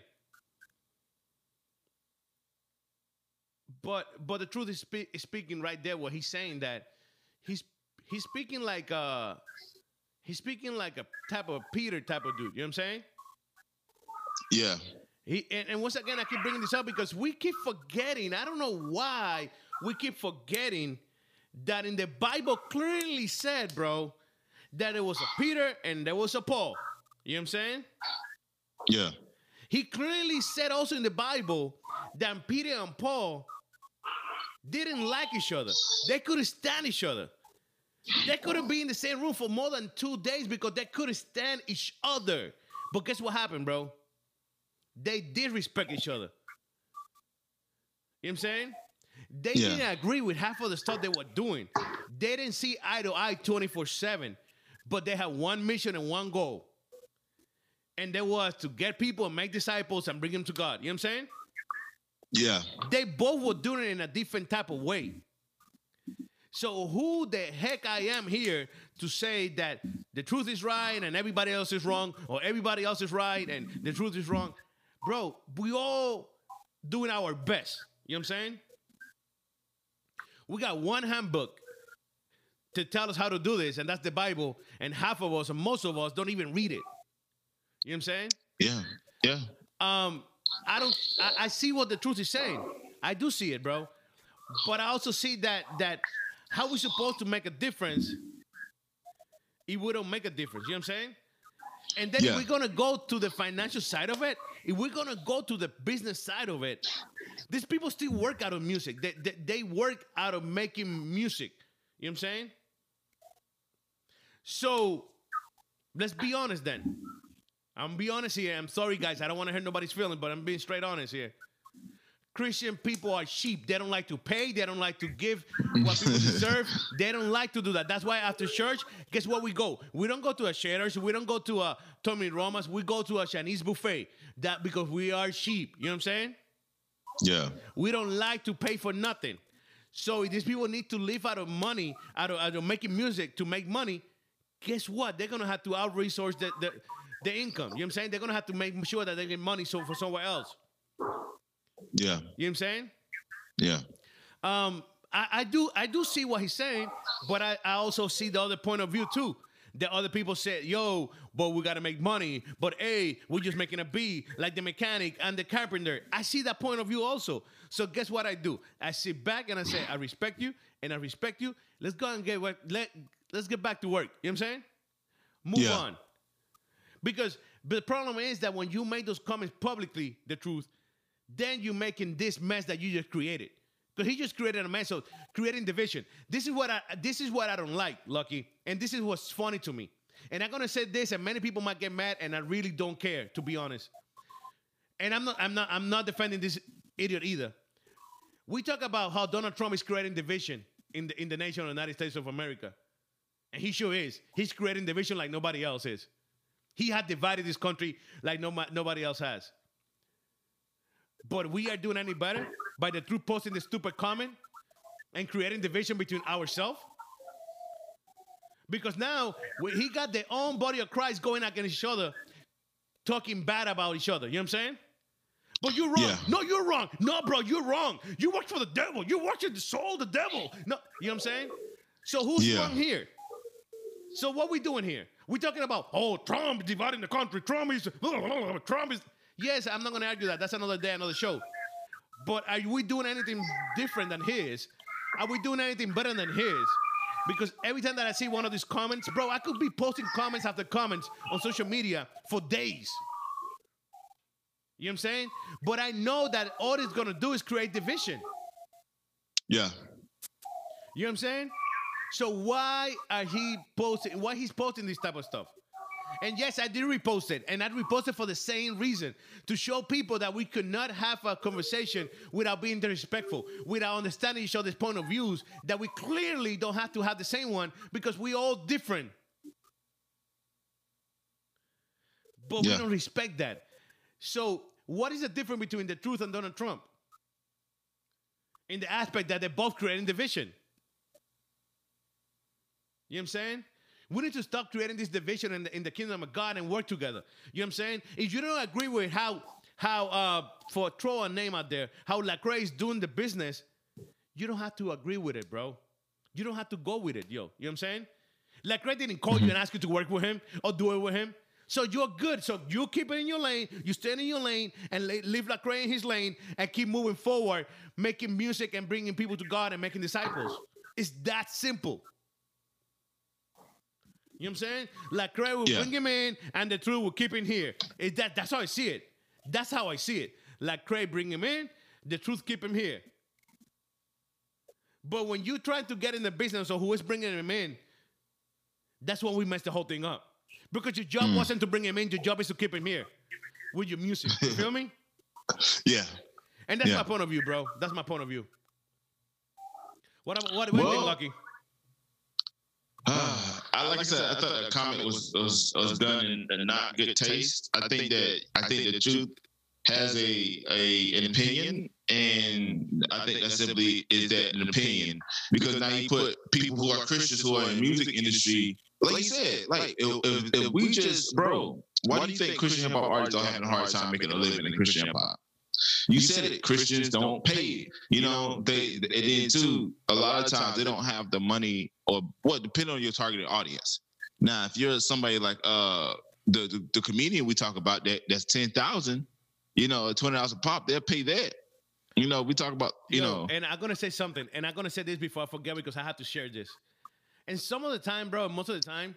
Speaker 2: But but the truth is, spe- is speaking right there. Where he's saying that he's he's speaking like a he's speaking like a type of Peter type of dude. You know what I'm saying?
Speaker 3: Yeah.
Speaker 2: He and, and once again I keep bringing this up because we keep forgetting. I don't know why we keep forgetting that in the Bible clearly said, bro, that there was a Peter and there was a Paul. You know what I'm saying?
Speaker 3: Yeah.
Speaker 2: He clearly said also in the Bible that Peter and Paul didn't like each other. They couldn't stand each other. They couldn't be in the same room for more than two days because they couldn't stand each other. But guess what happened, bro? They did respect each other. You know what I'm saying? They
Speaker 3: Yeah.
Speaker 2: didn't agree with half of the stuff they were doing. They didn't see eye to eye twenty-four seven, but they had one mission and one goal. And that was to get people and make disciples and bring them to God. You know what I'm saying?
Speaker 3: Yeah.
Speaker 2: They both were doing it in a different type of way. So who the heck I am here to say that the truth is right and everybody else is wrong, or everybody else is right and the truth is wrong? Bro, we all doing our best. You know what I'm saying? We got one handbook to tell us how to do this, and that's the Bible, and half of us, and most of us, don't even read it. You know what I'm saying?
Speaker 3: Yeah. Yeah.
Speaker 2: Um, I don't. I, I see what the truth is saying. I do see it, bro. But I also see that that how we supposed to make a difference if we don't make a difference. You know what I'm saying? And then
Speaker 3: Yeah.
Speaker 2: if we're gonna go to the financial side of it, if we're gonna go to the business side of it, these people still work out of music. They they, they work out of making music. You know what I'm saying? So let's be honest then. I'm gonna be honest here. I'm sorry, guys. I don't want to hurt nobody's feelings, but I'm being straight honest here. Christian people are sheep. They don't like to pay. They don't like to give what people deserve. They don't like to do that. That's why after church, guess what we go? We don't go to a Shaders. We don't go to a Tommy Romas. We go to a Chinese buffet. That because we are sheep. You know what I'm saying?
Speaker 3: Yeah.
Speaker 2: We don't like to pay for nothing. So if these people need to live out of money, out of, out of making music to make money, guess what? They're going to have to out-resource the, the, the income. You know what I'm saying? They're going to have to make sure that they get money so for somewhere else.
Speaker 3: Yeah.
Speaker 2: You know what I'm saying?
Speaker 3: Yeah.
Speaker 2: Um, I, I do I do see what he's saying, but I, I also see the other point of view too. The other people said, yo, but we got to make money. But A, we're just making a B, like the mechanic and the carpenter. I see that point of view also. So guess what I do? I sit back and I say, I respect you and I respect you. Let's go and get work. Let, let's get back to work. You know what I'm saying? Move
Speaker 3: Yeah.
Speaker 2: on. Because the problem is that when you make those comments publicly, the truth, then you're making this mess that you just created. Because he just created a mess of creating division. This is what I this is what I don't like, Lucky. And this is what's funny to me. And I'm gonna say this, and many people might get mad, and I really don't care, to be honest. And I'm not I'm not I'm not defending this idiot either. We talk about how Donald Trump is creating division in the in the nation of the United States of America. And he sure is. He's creating division like nobody else is. He had divided this country like no, nobody else has. But we are doing any better by the truth posting the stupid comment and creating division between ourselves? Because now we, he got their own body of Christ going against each other, talking bad about each other. You know what I'm saying? But you're wrong.
Speaker 3: Yeah.
Speaker 2: No, you're wrong. No, bro, you're wrong. You work for the devil. You work for the soul of the devil. No, you know what I'm saying? So who's
Speaker 3: Yeah.
Speaker 2: wrong here? So what we doing here? We're talking about, oh, Trump dividing the country. Trump is, Trump is. Yes, I'm not going to argue that. That's another day, another show. But are we doing anything different than his? Are we doing anything better than his? Because every time that I see one of these comments, bro, I could be posting comments after comments on social media for days. You know what I'm saying? But I know that all it's going to do is create division.
Speaker 3: Yeah.
Speaker 2: You know what I'm saying? So why are he posting, why he's posting this type of stuff? And yes, I did repost it. And I reposted for the same reason. To show people that we could not have a conversation without being disrespectful, without understanding each other's point of views, that we clearly don't have to have the same one because we all different. But
Speaker 3: Yeah.
Speaker 2: we don't respect that. So what is the difference between the truth and Donald Trump? In the aspect that they're both creating division. You know what I'm saying? We need to stop creating this division in the, in the kingdom of God and work together. You know what I'm saying? If you don't agree with how, how uh, for throw a name out there, how Lecrae is doing the business, you don't have to agree with it, bro. You don't have to go with it, yo. You know what I'm saying? Lecrae didn't call you and ask you to work with him or do it with him. So you're good. So you keep it in your lane. You stay in your lane and leave Lecrae in his lane and keep moving forward, making music and bringing people to God and making disciples. It's that simple. You know what I'm saying? Like Craig will
Speaker 3: Yeah.
Speaker 2: bring him in, and the truth will keep him here. It, that, that's how I see it. That's how I see it. Like Craig bring him in, the truth keep him here. But when you try to get in the business of who is bringing him in, that's when we mess the whole thing up. Because your job
Speaker 3: Mm.
Speaker 2: wasn't to bring him in, your job is to keep him here with your music. You feel me?
Speaker 3: Yeah.
Speaker 2: And that's
Speaker 3: Yeah.
Speaker 2: my point of view, bro. That's my point of view. What what, what do you
Speaker 3: Well,
Speaker 2: think, Lucky?
Speaker 3: Uh, I like I said, I thought the comment was was, was done in, in not good taste. I think that I think the truth has a a an opinion, and I think that simply is that an opinion, because now you put people who are Christians who are in the music industry, like you said, like if, if, if we just, bro, why do you think Christian hip hop artists are having a hard time making a living in Christian hip hop? You said it. Christians don't pay. You know, they and then too, a lot of times they don't have the money, or what, depending on your targeted audience. Now, if you're somebody like uh the the, the comedian we talk about that that's ten thousand, you know, twenty dollars a pop, they'll pay that. You know, we talk about, you
Speaker 2: Yo,
Speaker 3: know,
Speaker 2: and I'm gonna say something, and I'm gonna say this before I forget because I have to share this. And some of the time, bro, most of the time,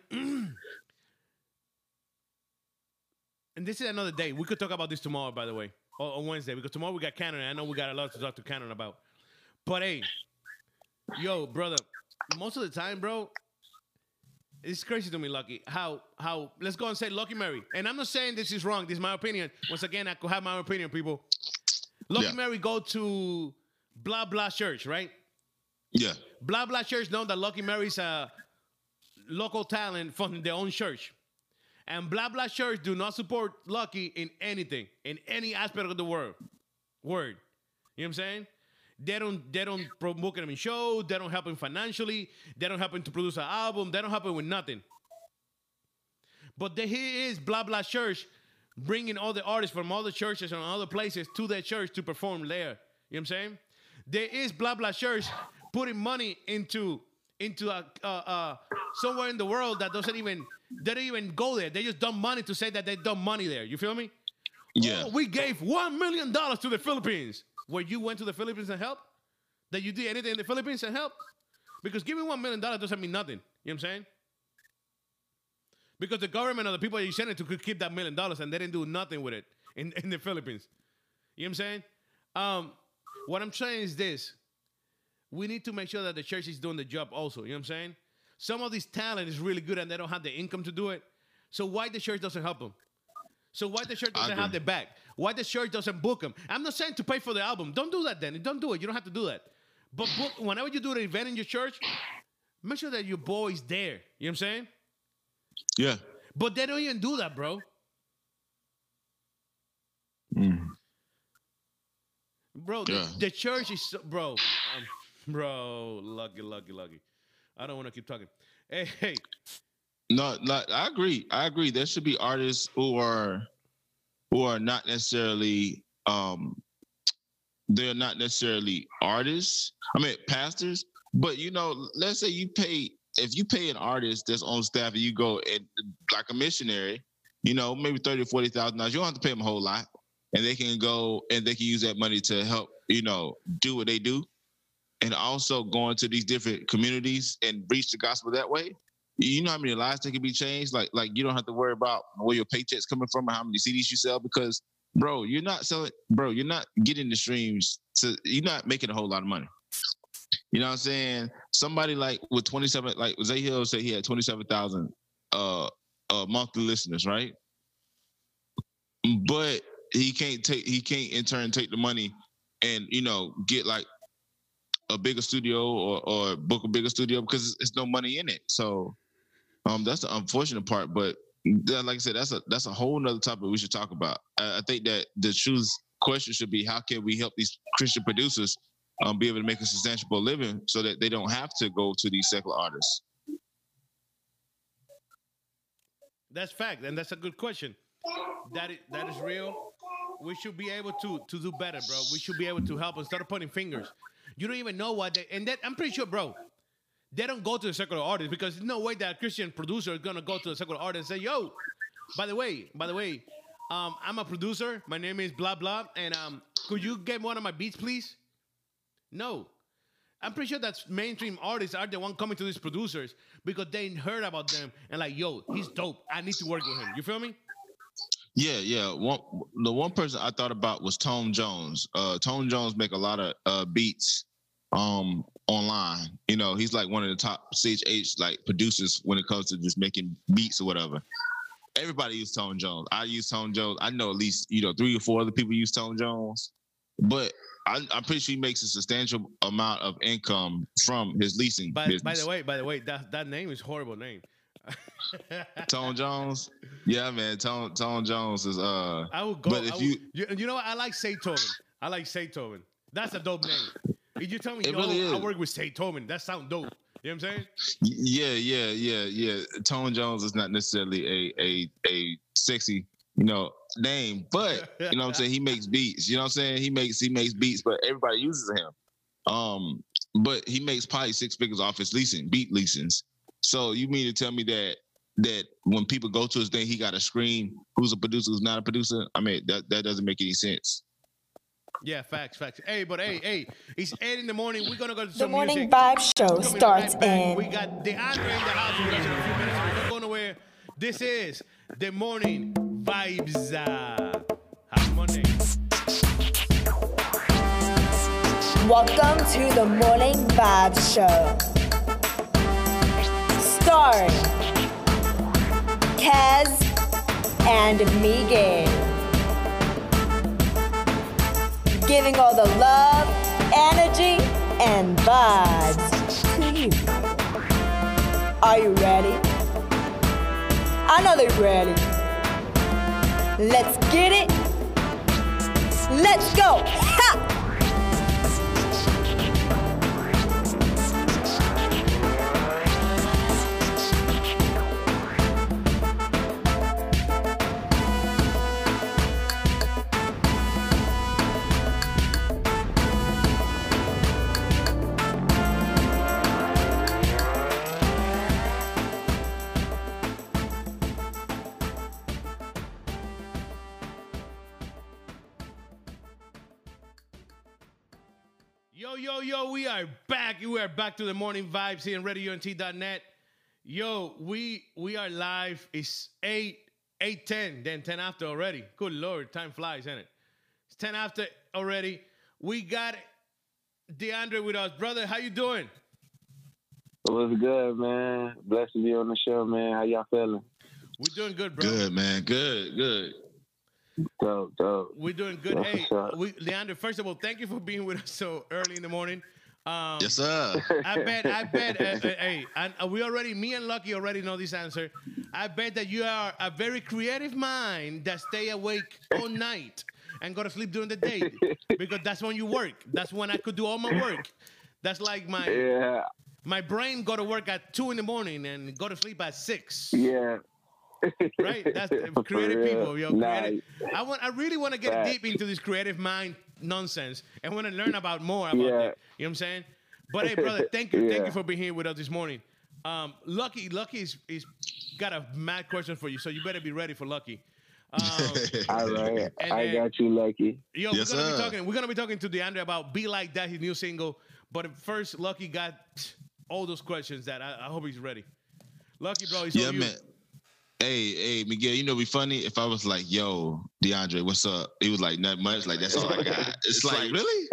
Speaker 2: and this is another day. We could talk about this tomorrow, by the way, or on Wednesday, because tomorrow we got Canada. I know we got a lot to talk to Canada about. But hey, yo, brother, most of the time, bro, it's crazy to me, Lucky, how, how, let's go and say Lucky Mary. And I'm not saying this is wrong. This is my opinion. Once again, I could have my opinion, people. Lucky
Speaker 3: Yeah.
Speaker 2: Mary go to blah, blah church, right?
Speaker 3: yeah,
Speaker 2: Blah, blah church know that Lucky Mary's a local talent from their own church. And blah, blah church do not support Lucky in anything, in any aspect of the world. Word. You know what I'm saying? They don't, they don't promote him in shows. They don't help him financially. They don't help him to produce an album. They don't help him with nothing. But there he is, blah, blah church, bringing all the artists from all the churches and other places to their church to perform there. You know what I'm saying? There is blah, blah church putting money into, into a, uh, uh, somewhere in the world that doesn't even, they don't even go there. They just dump money to say that they dump money there. You feel me?
Speaker 3: yeah.
Speaker 2: Oh, we gave one million dollars to the Philippines. Where you went to the Philippines and helped? That you did anything in the Philippines and helped? Because giving one million dollars doesn't mean nothing. You know what I'm saying? Because the government or the people that you sent it to could keep that million dollars and they didn't do nothing with it in, in the Philippines. You know what I'm saying? Um, what I'm saying is this. We need to make sure that the church is doing the job also. You know what I'm saying? Some of this talent is really good and they don't have the income to do it. So why the church doesn't help them? So why the church doesn't have their back? Why the church doesn't book them? I'm not saying to pay for the album. Don't do that then. Don't do it. You don't have to do that. But book, whenever you do an event in your church, make sure that your boy is there. You know what I'm saying?
Speaker 3: Yeah.
Speaker 2: But they don't even do that, bro.
Speaker 3: Mm.
Speaker 2: Bro, the,
Speaker 3: Yeah.
Speaker 2: the church is, so, bro, um, bro, lucky, lucky, lucky. I don't want to keep talking. Hey, hey.
Speaker 3: No, no, I agree. I agree. There should be artists who are who are not necessarily um they're not necessarily artists. I mean pastors, but you know, let's say you pay if you pay an artist that's on staff and you go and like a missionary, you know, maybe thirty or forty thousand dollars, you don't have to pay them a whole lot. And they can go and they can use that money to help, you know, do what they do. And also go into these different communities and reach the gospel that way. You know how many lives that can be changed? Like, like you don't have to worry about where your paycheck's coming from or how many C Ds you sell because, bro, you're not selling, bro, you're not getting the streams to, you're not making a whole lot of money. You know what I'm saying? Somebody like with twenty-seven, like Zay Hill said he had twenty-seven thousand uh, uh, monthly listeners, right? But he can't take, he can't in turn take the money and, you know, get like a bigger studio or, or book a bigger studio because it's no money in it. So, Um, that's the unfortunate part, but that, like I said, that's a that's a whole nother topic we should talk about. I, I think that the truth question should be how can we help these Christian producers um, be able to make a substantial living so that they don't have to go to these secular artists.
Speaker 2: That's fact, and that's a good question. That is, that is real. We should be able to to do better, bro. We should be able to help instead of pointing fingers. You don't even know what they, and that I'm pretty sure, bro. They don't go to the secular artist because there's no way that a Christian producer is gonna go to the secular artist and say, "Yo, by the way, by the way, um, I'm a producer. My name is blah blah, and um, could you get one of my beats, please?" No, I'm pretty sure that mainstream artists are the one coming to these producers because they heard about them and like, yo, he's dope. I need to work with him. You feel me?
Speaker 3: Yeah, yeah. One, the one person I thought about was Tone Jones. Uh, Tone Jones make a lot of uh, beats um, online. You know, he's like one of the top C H H like producers when it comes to just making beats or whatever. Everybody use Tone Jones. I use Tone Jones. I know at least, you know, three or four other people use Tone Jones. But I, I'm pretty sure he makes a substantial amount of income from his leasing
Speaker 2: by,
Speaker 3: business.
Speaker 2: By the way, by the way, that, that name is a horrible name.
Speaker 3: Tone Jones? Yeah, man. Tone Tone Jones is uh
Speaker 2: I would go.
Speaker 3: But if
Speaker 2: would,
Speaker 3: you,
Speaker 2: you you know what? I like Saytoven. I like Saytoven. That's a dope name. If you tell me,
Speaker 3: It
Speaker 2: yo,
Speaker 3: really
Speaker 2: I
Speaker 3: is.
Speaker 2: work with Saytoven, that sounds dope. You know what I'm saying?
Speaker 3: yeah, yeah, yeah, yeah. Tone Jones is not necessarily a a a sexy, you know, name, but you know what I'm saying, he makes beats. You know what I'm saying? He makes he makes beats, but everybody uses him. Um, but he makes probably six figures off his leasing, beat leasings. So you mean to tell me that that when people go to his thing, he got to screen who's a producer, who's not a producer? I mean, that that doesn't make any sense.
Speaker 2: Yeah, facts, facts. Hey, but hey, hey, it's eight in the morning. We're gonna go to
Speaker 1: The
Speaker 2: some
Speaker 1: Morning
Speaker 2: music.
Speaker 1: Vibe Show
Speaker 2: Coming
Speaker 1: starts
Speaker 2: right back.
Speaker 1: in.
Speaker 2: We got DeAndre in the house with us in a few minutes. So don't go nowhere. This is the Morning Vibes. Uh, happy Monday.
Speaker 1: Welcome to the Morning Vibe Show. Starring Kaz and Miguel. Giving all the love, energy, and vibes to you. Are you ready? I know they're ready. Let's get it. Let's go. Ha!
Speaker 2: Yo, yo, yo, we are back. We are back to the Morning Vibes here on radio n t dot net. Yo, we we are live. It's eight, eight ten, then ten after already. Good Lord, time flies, isn't it? It's ten after already. We got DeAndre with us. Brother, how you doing?
Speaker 4: What's good, man? Blessed to be on the show, man. How y'all feeling?
Speaker 2: We're doing good, bro.
Speaker 3: Good, man. Good, good.
Speaker 4: Dope, dope.
Speaker 2: We're doing good.
Speaker 4: That's
Speaker 2: Hey,
Speaker 4: what's up.
Speaker 2: we, Leandro, first of all, thank you for being with us so early in the morning. Um,
Speaker 3: Yes, sir.
Speaker 2: I bet, I bet, uh, uh, hey, and uh, we already, me and Lucky already know this answer. I bet that you are a very creative mind that stay awake all night and go to sleep during the day because that's when you work. That's when I could do all my work. That's like my
Speaker 4: Yeah,
Speaker 2: my brain go to work at two in the morning and go to sleep at six.
Speaker 4: yeah.
Speaker 2: Right? That's
Speaker 4: For
Speaker 2: creative
Speaker 4: real.
Speaker 2: people, yo.
Speaker 4: Nah,
Speaker 2: Creative. I want. I really want to get
Speaker 4: Facts.
Speaker 2: deep into this creative mind nonsense and want to learn about more about
Speaker 4: Yeah.
Speaker 2: it. You know what I'm saying? But hey, brother, thank you, thank
Speaker 4: Yeah.
Speaker 2: you for being here with us this morning. Um, Lucky, Lucky is, is got a mad question for you, so you better be ready for Lucky. Um,
Speaker 4: All right,
Speaker 2: And
Speaker 4: I
Speaker 2: then-
Speaker 4: got you, Lucky.
Speaker 2: Yo,
Speaker 3: Yes,
Speaker 2: we're gonna
Speaker 3: sir.
Speaker 2: be talking. We're gonna be talking to DeAndre about "Be Like That," his new single. But first, Lucky got all those questions that I, I hope he's ready. Lucky, bro, he's
Speaker 3: Yeah,
Speaker 2: on you.
Speaker 3: man. Hey, hey, Miguel, you know, it'd be funny if I was like, yo, DeAndre, what's up? He was like, not much. Like, that's all I got. It's like, really?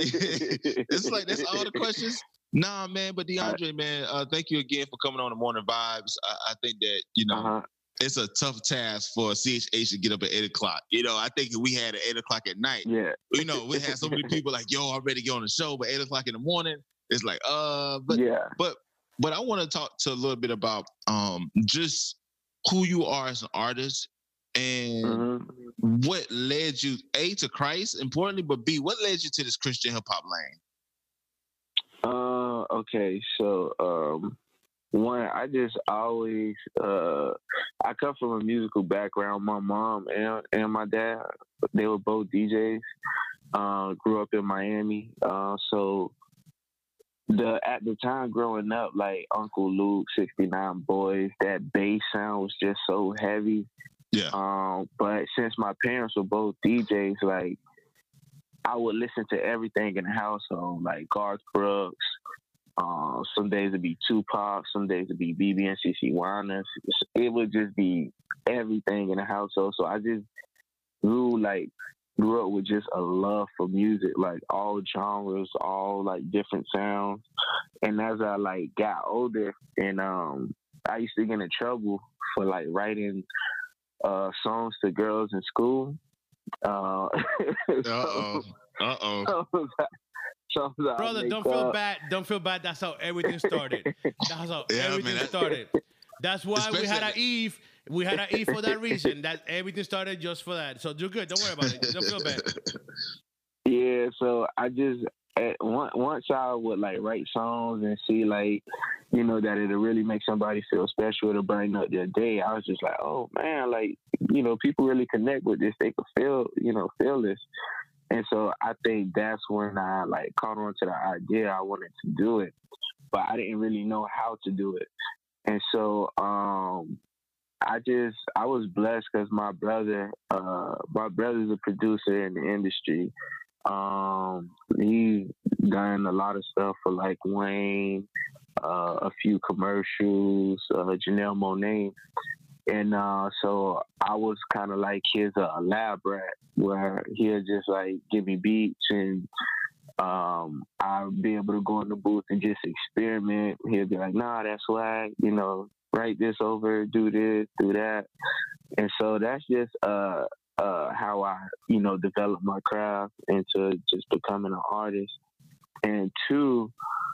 Speaker 3: It's like, that's all the questions? Nah, man, but DeAndre, man, uh, thank you again for coming on the Morning Vibes. I, I think that, you know,
Speaker 4: Uh-huh.
Speaker 3: it's a tough task for C H H to get up at eight o'clock. You know, I think if we had at eight o'clock at night,
Speaker 4: Yeah.
Speaker 3: you know, we had so many people like, yo, I'm ready to get on the show, but eight o'clock in the morning, it's like, uh, but
Speaker 4: yeah.
Speaker 3: but but I want to talk to a little bit about um just who you are as an artist and
Speaker 4: hmm
Speaker 3: what led you A to Christ, importantly, but B, what led you to this Christian hip hop lane?
Speaker 4: Uh, okay, so um, one, I just always uh, I come from a musical background. My mom and and my dad, they were both D Js. Uh, grew up in Miami, uh, so the at the time growing up, like Uncle Luke, sixty-nine Boys, that bass sound was just so heavy.
Speaker 3: Yeah.
Speaker 4: Um, but since my parents were both D Js, like I would listen to everything in the household, like Garth Brooks, Uh, some days it'd be Tupac, some days it'd be B B and C C Winans. It would just be everything in the household. So I just grew like grew up with just a love for music, like all genres, all like different sounds. And as I like got older, and um, I used to get in trouble for like writing uh, songs to girls in school. Uh
Speaker 3: oh. Uh oh.
Speaker 4: So,
Speaker 2: brother, don't feel up. bad. Don't feel bad. That's how everything started. That's how yeah, everything man, that, started. That's why we had an Eve. We had an Eve for that reason. That everything started just for that. So you're good. Don't worry about it. Don't feel bad.
Speaker 4: Yeah. So I just at one, once I would like write songs and see like, you know, that it'll really make somebody feel special to brighten up their day. I was just like, oh man, like, you know, people really connect with this. They could feel, you know, feel this. And so I think that's when I like caught on to the idea. I wanted to do it, but I didn't really know how to do it. And so um, I just, I was blessed because my brother, uh, my brother's a producer in the industry. Um, he's done a lot of stuff for like Wayne, uh, a few commercials, uh, Janelle Monáe. And uh, so I was kind of like his uh, lab rat, where he'll just like give me beats, and um, I'll be able to go in the booth and just experiment. He'll be like, nah, that's why, you know, write this over, do this, do that. And so that's just uh, uh, how I, you know, developed my craft into just becoming an artist. And two,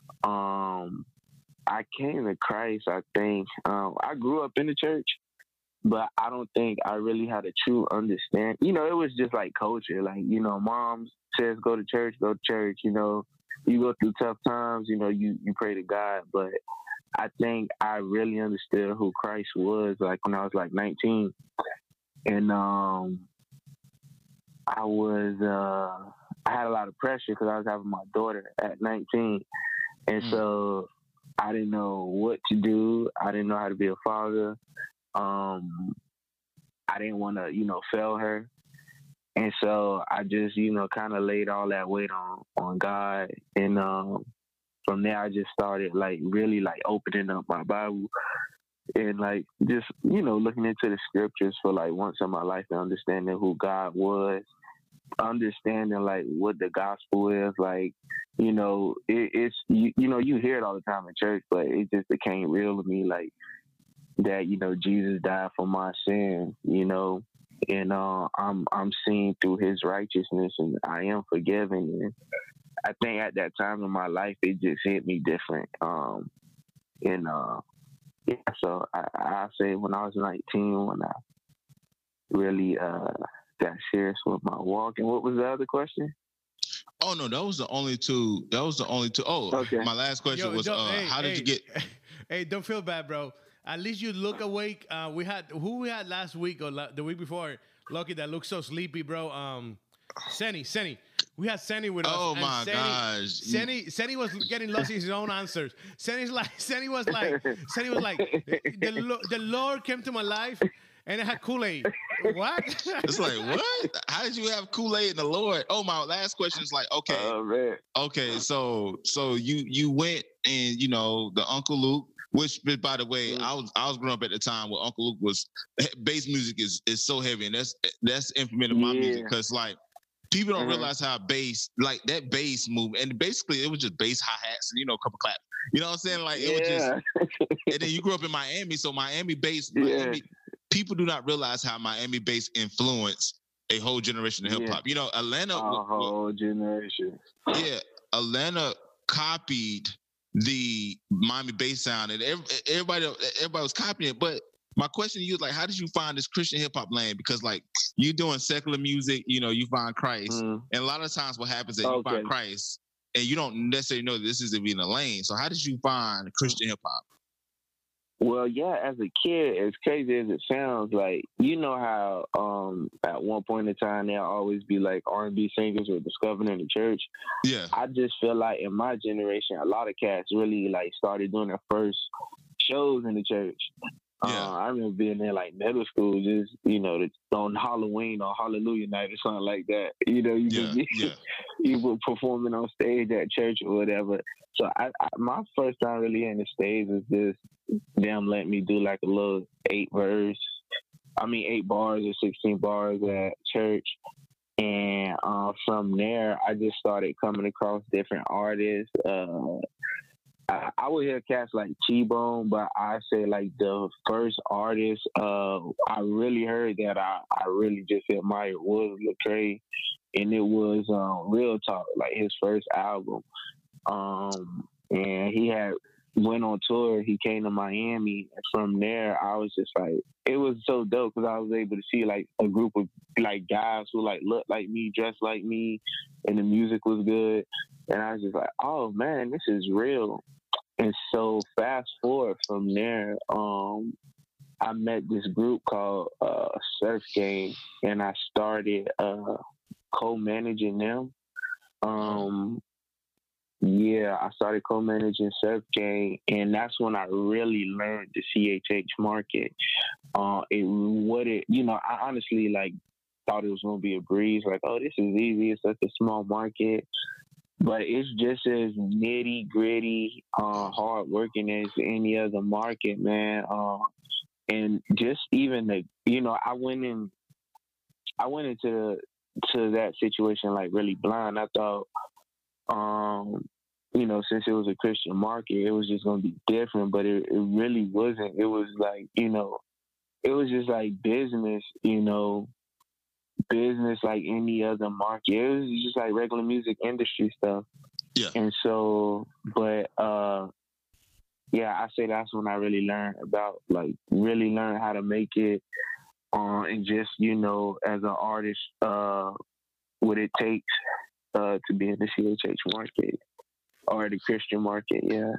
Speaker 4: um, I came to Christ, I think. Um, I grew up in the church, but I don't think I really had a true understand. You know, it was just like culture. Like, you know, mom says go to church, go to church. You know, you go through tough times, you know, you, you pray to God. But I think I really understood who Christ was, like, when I was, like, nineteen. And um, I was, uh, I had a lot of pressure because I was having my daughter at nineteen. And mm. so I didn't know what to do. I didn't know how to be a father. Um, I didn't want to, you know, fail her. And so I just, you know, kind of laid all that weight on, on God. And um, from there, I just started, like, really, like, opening up my Bible and, like, just, you know, looking into the scriptures for, like, once in my life and understanding who God was, understanding, like, what the gospel is. Like, you know, it, it's, you, you know, you hear it all the time in church, but it just became real to me, like, that, you know, Jesus died for my sins, you know, and uh, I'm I'm seeing through his righteousness, and I am forgiven. And I think at that time in my life, it just hit me different. Um, and uh, yeah, so I, I say when I was nineteen, when I really uh, got serious with my walk. And what was the other question?
Speaker 3: Oh no, that was the only two. That was the only two. Oh, okay. My last question Yo, was, uh, hey, how did
Speaker 2: hey,
Speaker 3: you get?
Speaker 2: Hey, don't feel bad, bro. At least you look awake. Uh, we had who we had last week or la- the week before. Lucky that looks so sleepy, bro. Um, Senny, Senny. We had Senny with us.
Speaker 3: Oh my
Speaker 2: Senny,
Speaker 3: gosh.
Speaker 2: Senny, Senny was getting lost in his own answers. Senny's like, Senny was like, Senny was like, the, the Lord came to my life and it had Kool-Aid. What?
Speaker 3: It's like, what? How did you have Kool-Aid in the Lord? Oh, my last question is like, okay,
Speaker 4: oh, man.
Speaker 3: okay, so so you you went and, you know, the Uncle Luke. Which, by the way, mm. I was I was growing up at the time where Uncle Luke was bass music is is so heavy, and that's that's implemented in my yeah. music because like people don't mm-hmm. realize how bass like that bass move, and basically it was just bass hi hats and you know a couple claps. You know what I'm saying? Like it
Speaker 4: yeah.
Speaker 3: was just. And then you grew up in Miami, so Miami bass. Yeah. Miami, people do not realize how Miami bass influenced a whole generation of hip hop. Yeah. You know, Atlanta.
Speaker 4: A w- whole generation.
Speaker 3: Yeah, Atlanta copied the Miami bass sound, and everybody everybody was copying it. But my question to you is like, how did you find this Christian hip hop lane? Because like you're doing secular music, you know, you find Christ, mm. and a lot of times what happens is okay. you find Christ, and you don't necessarily know that this isn't being a lane. So how did you find Christian hip hop?
Speaker 4: Well, yeah, as a kid, as crazy as it sounds, like, you know how um, at one point in time, there'll always be like R and B singers were discovered in the church.
Speaker 3: Yeah.
Speaker 4: I just feel like in my generation, a lot of cats really like started doing their first shows in the church.
Speaker 3: Yeah.
Speaker 4: Uh, I remember being in like middle school, just, you know, on Halloween or Hallelujah night or something like that. You know, you
Speaker 3: yeah,
Speaker 4: be,
Speaker 3: yeah.
Speaker 4: you were performing on stage at church or whatever. So I, I my first time really in the stage was just them letting me do like a little eight verse. I mean eight bars or sixteen bars at church. And uh, from there, I just started coming across different artists. Uh, I, I would hear cats like T-Bone, but I say like the first artist uh, I really heard that I, I really just admired was Lecrae, and it was um, Real Talk, like his first album. Um, and he had went on tour. He came to Miami, and from there, I was just like, it was so dope because I was able to see like a group of like guys who like looked like me, dressed like me, and the music was good. And I was just like, oh man, this is real. And so fast forward from there, um, I met this group called uh, Surf Gang, and I started uh, co-managing them. Um, yeah, I started co-managing Surf Gang, and that's when I really learned the C H H market. Uh, it what it, you know, I honestly like thought it was gonna be a breeze, like, oh, this is easy. It's such a small market. But it's just as nitty gritty, uh, hard working as any other market, man. Uh, and just even the, you know, I went in, I went into to that situation like really blind. I thought, um, you know, since it was a Christian market, it was just gonna be different. But it, it really wasn't. It was like, you know, it was just like business, you know. Business like any other market. It was just like regular music industry stuff.
Speaker 3: Yeah.
Speaker 4: And so, but uh, yeah, I say that's when I really learned about like really learn how to make it, uh, and just you know, as an artist, uh, what it takes uh to be in the C H H market or the Christian market. Yeah.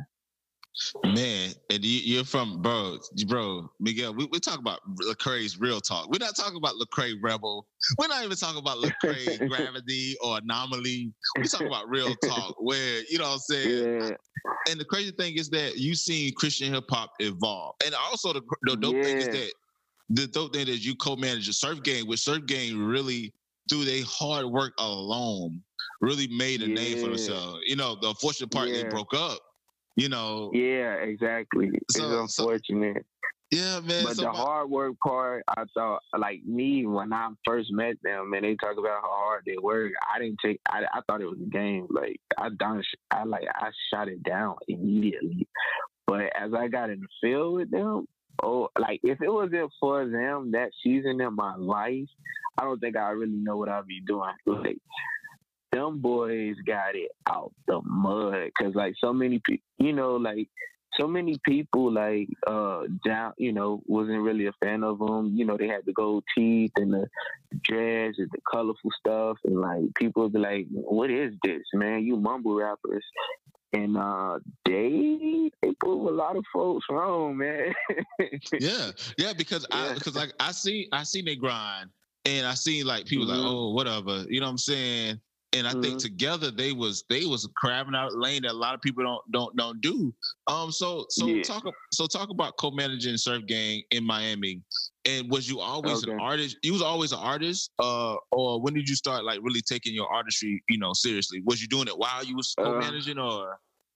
Speaker 3: Man, and you, you're from, bro, bro, Miguel, we, we talk about Lecrae's Real Talk. We're not talking about Lecrae Rebel. We're not even talking about Lecrae Gravity or Anomaly. We're talking about Real Talk where, you know what I'm saying? Yeah. And the crazy thing is that you've seen Christian hip hop evolve. And also the, the dope yeah. thing is that the dope thing is you co-manage a Surf Gang, which Surf Gang really, through their hard work alone, really made a yeah. name for themselves. You know, the unfortunate part, yeah. they broke up. You know. Yeah,
Speaker 4: exactly. So, it's unfortunate.
Speaker 3: So, yeah, man.
Speaker 4: But
Speaker 3: so
Speaker 4: the
Speaker 3: my,
Speaker 4: hard work part, I thought, like me, when I first met them, and they talk about how hard they work, I didn't take. I, I thought it was a game. Like I done, I like I shot it down immediately. But as I got in the field with them, oh, like if it wasn't for them that season in my life, I don't think I really know what I'd be doing. Like. Them boys got it out the mud because like so many people, you know, like so many people like uh down, you know, wasn't really a fan of them. You know, they had the gold teeth and the dreads and the colorful stuff, and like people would be like, "What is this, man? You mumble rappers." And uh, they they prove a lot of folks wrong, man.
Speaker 3: yeah, yeah, because yeah. I because like I see I seen they grind, and I seen like people mm-hmm. like, oh, whatever, you know what I'm saying. And I mm-hmm. think together they was they was crabbing out a lane that a lot of people don't don't don't do. Um, so so yeah. talk so talk about co-managing Surf Gang in Miami. And was you always okay. an artist? You was always an artist, uh, or when did you start like really taking your artistry, you know, seriously? Was you doing it while you was co-managing, uh, or?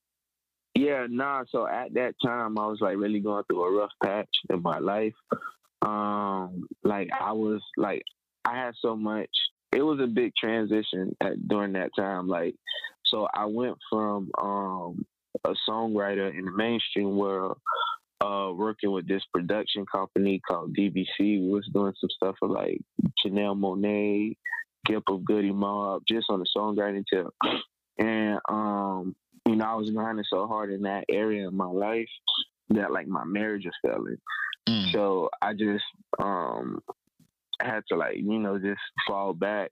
Speaker 4: Yeah, nah. So at that time, I was like really going through a rough patch in my life. Um, like I was like I had so much. It was a big transition at, during that time. Like, so I went from um, a songwriter in the mainstream world, uh, working with this production company called D B C. We was doing some stuff for like Janelle Monáe, Gip of Goody Mob, just on the songwriting tip. And, um, you know, I was grinding so hard in that area of my life that like my marriage was failing. Mm. So I just, um, I had to like, you know, just fall back.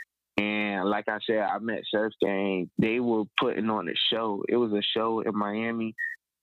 Speaker 4: And like I said, I met Surf Gang. They were putting on a show. It was a show in Miami.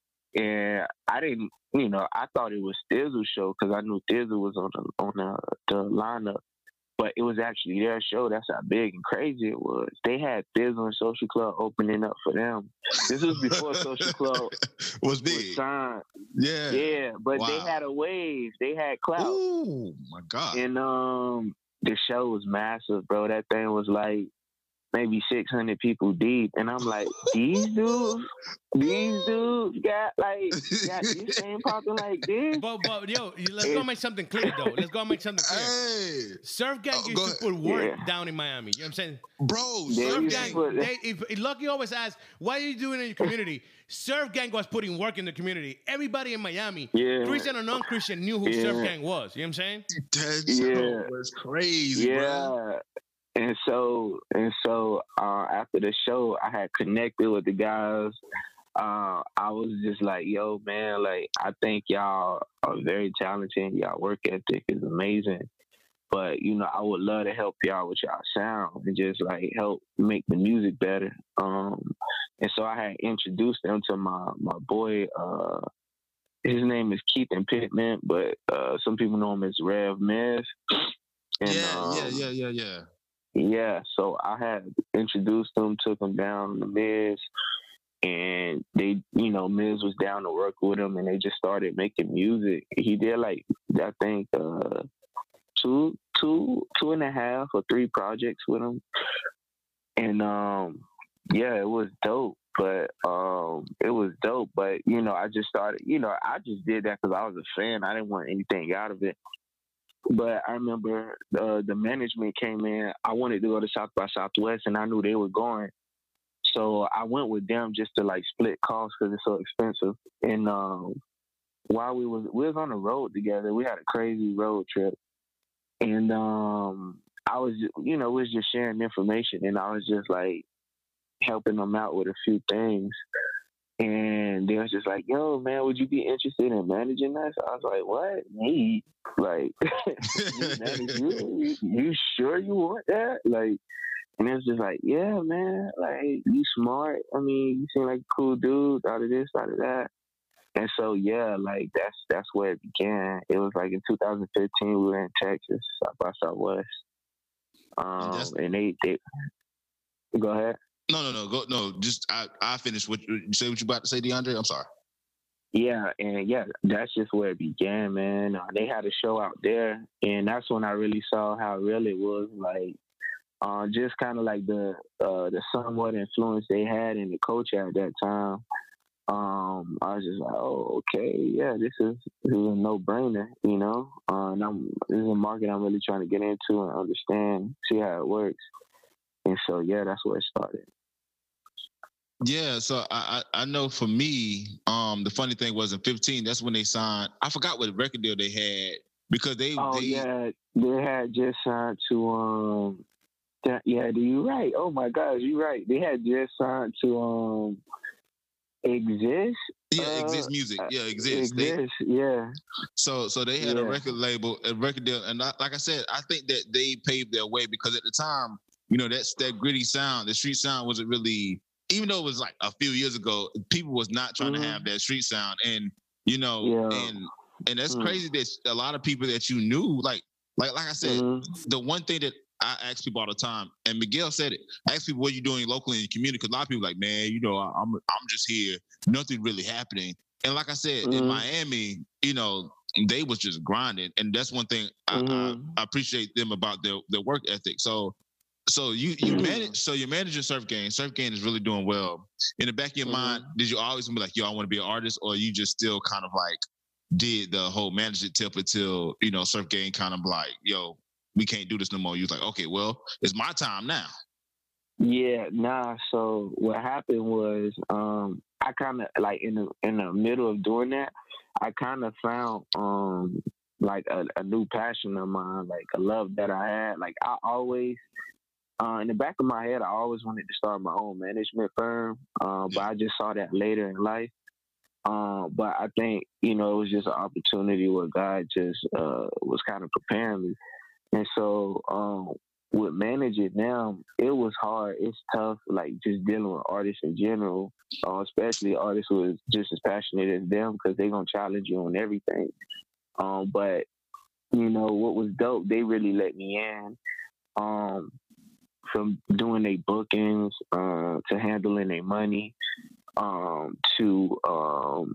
Speaker 4: And I didn't, you know, I thought it was Thizzle's show because I knew Thizzle was on the, on the, the lineup. But it was actually their show. That's how big and crazy it was. They had Thizzle and Social Club opening up for them. This was before Social Club
Speaker 3: was big.
Speaker 4: Was signed.
Speaker 3: Yeah.
Speaker 4: Yeah, but
Speaker 3: wow.
Speaker 4: they had a wave. They had clout.
Speaker 3: Oh, my God.
Speaker 4: And um, the show was massive, bro. That thing was like, maybe six hundred people deep, and I'm like, these dudes, these dudes got like got this thing popping like this.
Speaker 2: But but yo, let's go make something clear though. Let's go make something clear.
Speaker 3: Hey,
Speaker 2: Surf Gang
Speaker 3: Oh,
Speaker 2: used
Speaker 3: go
Speaker 2: to
Speaker 3: ahead.
Speaker 2: put work
Speaker 4: Yeah.
Speaker 2: down in Miami. You know what I'm saying?
Speaker 3: bro,
Speaker 4: They
Speaker 3: Surf
Speaker 4: used to
Speaker 2: Gang,
Speaker 4: put-
Speaker 2: they, if, if Lucky always asks, why are you doing it in your community? Surf Gang was putting work in the community. Everybody in Miami,
Speaker 4: Yeah.
Speaker 2: Christian or non-Christian, knew who
Speaker 4: Yeah.
Speaker 2: Surf Gang was. You know what I'm saying?
Speaker 3: that
Speaker 4: Yeah.
Speaker 3: show was crazy, bro.
Speaker 4: Yeah. And so and so uh, after the show, I had connected with the guys. Uh, I was just like, yo, man, like I think y'all are very talented. Y'all work ethic is amazing. But you know, I would love to help y'all with y'all sound and just like help make the music better. Um, and so I had introduced them to my my boy. Uh, his name is Keith and Pittman, but uh, some people know him as Rev Miz. And,
Speaker 3: yeah,
Speaker 4: um,
Speaker 3: yeah, yeah, yeah, yeah.
Speaker 4: yeah, so I had introduced them, took them down to Miz, and they, you know, Miz was down to work with him, and they just started making music. He did like I think uh, two, two, two and a half or three projects with him, and um, yeah, it was dope. But um, it was dope. But you know, I just started. You know, I just did that because I was a fan. I didn't want anything out of it. But I remember uh, the management came in. I wanted to go to South by Southwest, and I knew they were going. So I went with them just to like split costs because it's so expensive. And um, while we was we was on the road together, we had a crazy road trip. And um, I was, you know, we was just sharing information, and I was just like helping them out with a few things. And they was just like, yo, man, would you be interested in managing us? I was like, what? Me? Like, you manage you? You sure you want that? Like, and it was just like, yeah, man, like, you smart. I mean, you seem like a cool dude, out of this, out of that. And so, yeah, like, that's that's where it began. It was like in two thousand fifteen, we were in Texas, South by Southwest. Um,
Speaker 3: that's-
Speaker 4: and they, they, go ahead.
Speaker 3: No, no, no, go, no. Just I, I finished. What you say? What you about to say, DeAndre? I'm sorry.
Speaker 4: Yeah, and yeah, that's just where it began, man. Uh, they had a show out there, and that's when I really saw how real it was. Like, uh, just kind of like the uh, the somewhat influence they had in the culture at that time. Um, I was just like, oh, okay, yeah, this is this is a no brainer, you know. Uh, and I'm this is a market I'm really trying to get into and understand, see how it works. And so, yeah, that's where it started.
Speaker 3: Yeah, so I, I I know for me, um, the funny thing was in fifteen. That's when they signed. I forgot what record deal they had because they.
Speaker 4: Oh
Speaker 3: they,
Speaker 4: yeah, they had just signed to um. That, yeah, you right. Oh my gosh, you right. They had just signed to um. Exist.
Speaker 3: Yeah,
Speaker 4: uh,
Speaker 3: Exist Music. Yeah, Exist. They,
Speaker 4: Exist. Yeah.
Speaker 3: so so they had a
Speaker 4: Yeah.
Speaker 3: record label, a record deal, and I, like I said, I think that they paved their way because at the time, you know, that's that gritty sound, the street sound wasn't really. Even though it was like a few years ago, people was not trying
Speaker 4: Mhm.
Speaker 3: to have that street sound, and you know,
Speaker 4: Yeah.
Speaker 3: and and that's
Speaker 4: Mm.
Speaker 3: crazy that a lot of people that you knew, like like like I said,
Speaker 4: Mhm.
Speaker 3: the one thing that I ask people all the time, and Miguel said it. I ask people what you doing locally in your community because a lot of people are like, man, you know, I- I'm I'm just here, nothing really happening. And like I said, in
Speaker 4: Mhm.
Speaker 3: Miami, you know, they was just grinding, and that's one thing I,
Speaker 4: Mhm.
Speaker 3: I, I appreciate them about their their work ethic. So. So you you
Speaker 4: Mhm.
Speaker 3: manage so you're managing Surf Gang. Surf Gang is really doing well. In the back of your
Speaker 4: Mhm.
Speaker 3: mind, did you always be like, yo, I want to be an artist, or you just still kind of like did the whole management tip until you know Surf Gang kind of like, yo, we can't do this no more. You was like, okay, well, it's my time now.
Speaker 4: Yeah, nah. So what happened was, um, I kind of like in the in the middle of doing that, I kind of found um like a, a new passion of mine, like a love that I had. Like I always, uh, in the back of my head, I always wanted to start my own management firm, uh, but I just saw that later in life. Um, but I think you know it was just an opportunity where God just uh, was kind of preparing me, and so um, with Manage It now, it was hard. It's tough, like just dealing with artists in general, uh, especially artists who are just as passionate as them because they're gonna challenge you on everything. Um, but you know what was dope? They really let me in. Um, from doing their bookings uh, to handling their money um, to um,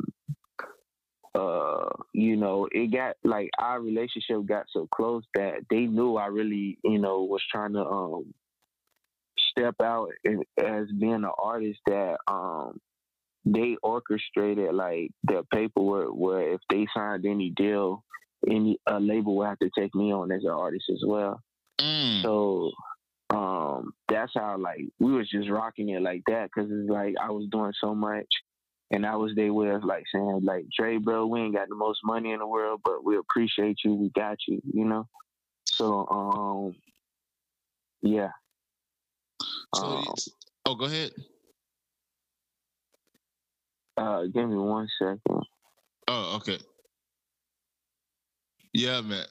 Speaker 4: uh, you know, it got like our relationship got so close that they knew I really, you know, was trying to um, step out and, as being an artist that um they orchestrated like the paperwork where if they signed any deal, any a label would have to take me on as an artist as well.
Speaker 3: Mm.
Speaker 4: So um that's how like we was just rocking it like that because it's like I was doing so much. And that was their way of like saying, like, Dre, bro, we ain't got the most money in the world, but we appreciate you. We got you, you know? So, um, yeah.
Speaker 3: So,
Speaker 4: um,
Speaker 3: oh, go ahead.
Speaker 4: Uh, give me one second.
Speaker 3: Oh, okay. Yeah, man.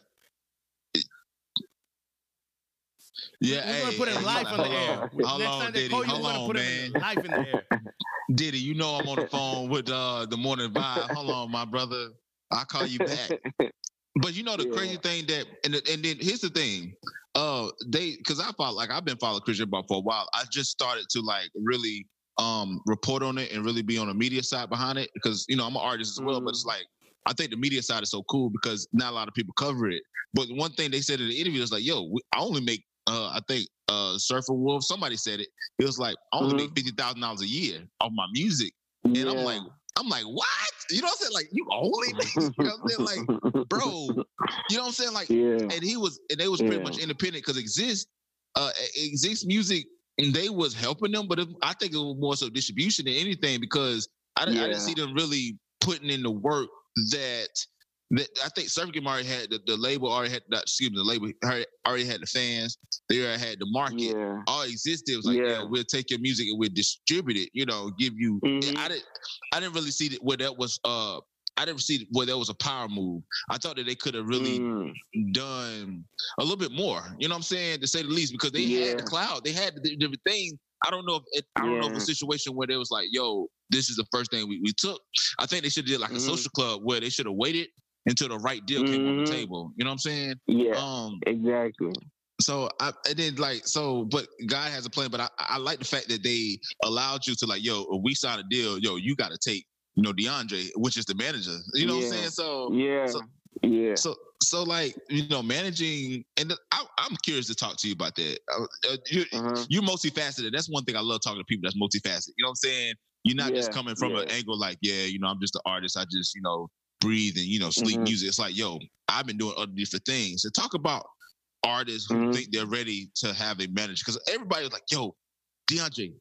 Speaker 3: Yeah,
Speaker 2: we're
Speaker 3: hey,
Speaker 2: gonna put him
Speaker 3: hey,
Speaker 2: live on the air.
Speaker 3: on.
Speaker 2: Next
Speaker 3: Hold on,
Speaker 2: time they
Speaker 3: Diddy.
Speaker 2: call you,
Speaker 3: Hold
Speaker 2: we're gonna
Speaker 3: on,
Speaker 2: put
Speaker 3: man.
Speaker 2: him in live in the air.
Speaker 3: Diddy, you know I'm on the phone with uh, the morning vibe. Hold on, my brother. I'll call you back. But you know the
Speaker 4: Yeah.
Speaker 3: crazy thing that, and and then here's the thing, uh, they because I follow like I've been following Christian Ball for a while. I just started to like really um report on it and really be on the media side behind it because you know I'm an artist as well,
Speaker 4: Mm.
Speaker 3: but it's like I think the media side is so cool because not a lot of people cover it. But one thing they said in the interview is like, "Yo, we, I only make uh I think uh Surfer Wolf somebody said it. It was like I only
Speaker 4: Mhm.
Speaker 3: make fifty thousand dollars a year off my music." And
Speaker 4: Yeah.
Speaker 3: I'm like, I'm like, what? You know what I'm saying? Like, you only make, you know what I'm saying? Like, bro, you know what I'm saying? Like,
Speaker 4: yeah.
Speaker 3: and he was, and they was pretty
Speaker 4: Yeah.
Speaker 3: much independent because Exist, uh, Exist Music, and they was helping them, but it, I think it was more so distribution than anything because I, didn't- I didn't
Speaker 4: Yeah.
Speaker 3: see them really putting in the work that. That I think Surf Game already had the, the label already had not, excuse me the label already already had the fans, they already had the market.
Speaker 4: Yeah.
Speaker 3: All existed was like,
Speaker 4: Yeah.
Speaker 3: yeah, we'll take your music and we'll distribute it, you know, give you
Speaker 4: Mhm.
Speaker 3: I didn't I didn't really see that where that was uh I didn't see where that was a power move. I thought that they could have really
Speaker 4: Mm.
Speaker 3: done a little bit more, you know what I'm saying, to say the least, because they had the
Speaker 4: Yeah.
Speaker 3: cloud, they had the different things. I don't know if it, I don't know if
Speaker 4: Yeah.
Speaker 3: a situation where they was like, yo, this is the first thing we, we took. I think they should have did like a
Speaker 4: Mhm.
Speaker 3: social club where they should have waited until the right deal came on the
Speaker 4: Mhm.
Speaker 3: table. You know what I'm saying?
Speaker 4: Yeah.
Speaker 3: Um,
Speaker 4: Exactly.
Speaker 3: so I, I did like so, but God has a plan. But I, I like the fact that they allowed you to like, yo, if we sign a deal, yo, you got to take, you know, DeAndre, which is the manager. You know
Speaker 4: Yeah.
Speaker 3: what I'm saying? So
Speaker 4: Yeah.
Speaker 3: so
Speaker 4: Yeah.
Speaker 3: so so like you know, managing, and the, I, I'm curious to talk to you about that. Uh, uh, you,
Speaker 4: Uh-huh.
Speaker 3: you're multifaceted. That's one thing I love talking to people that's multifaceted. You know what I'm saying? You're not just
Speaker 4: Yeah,
Speaker 3: coming from an
Speaker 4: yeah.
Speaker 3: angle like, yeah, you know, I'm just an artist. I just, you know, breathe and, you know, sleep
Speaker 4: Mhm.
Speaker 3: music. It's like, yo, I've been doing other different things. So talk about artists who
Speaker 4: Mhm.
Speaker 3: think they're ready to have a manager. Because everybody was like, yo, DeAndre,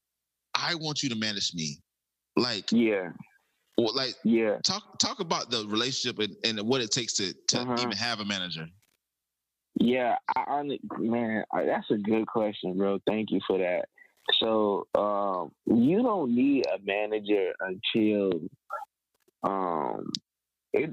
Speaker 3: I want you to manage me. Like,
Speaker 4: Yeah.
Speaker 3: or like,
Speaker 4: Yeah.
Speaker 3: talk talk about the relationship and, and what it takes to, to
Speaker 4: Uh-huh.
Speaker 3: even have a manager.
Speaker 4: Yeah, I, I man, I, that's a good question, bro. Thank you for that. So, um, you don't need a manager until, um, it.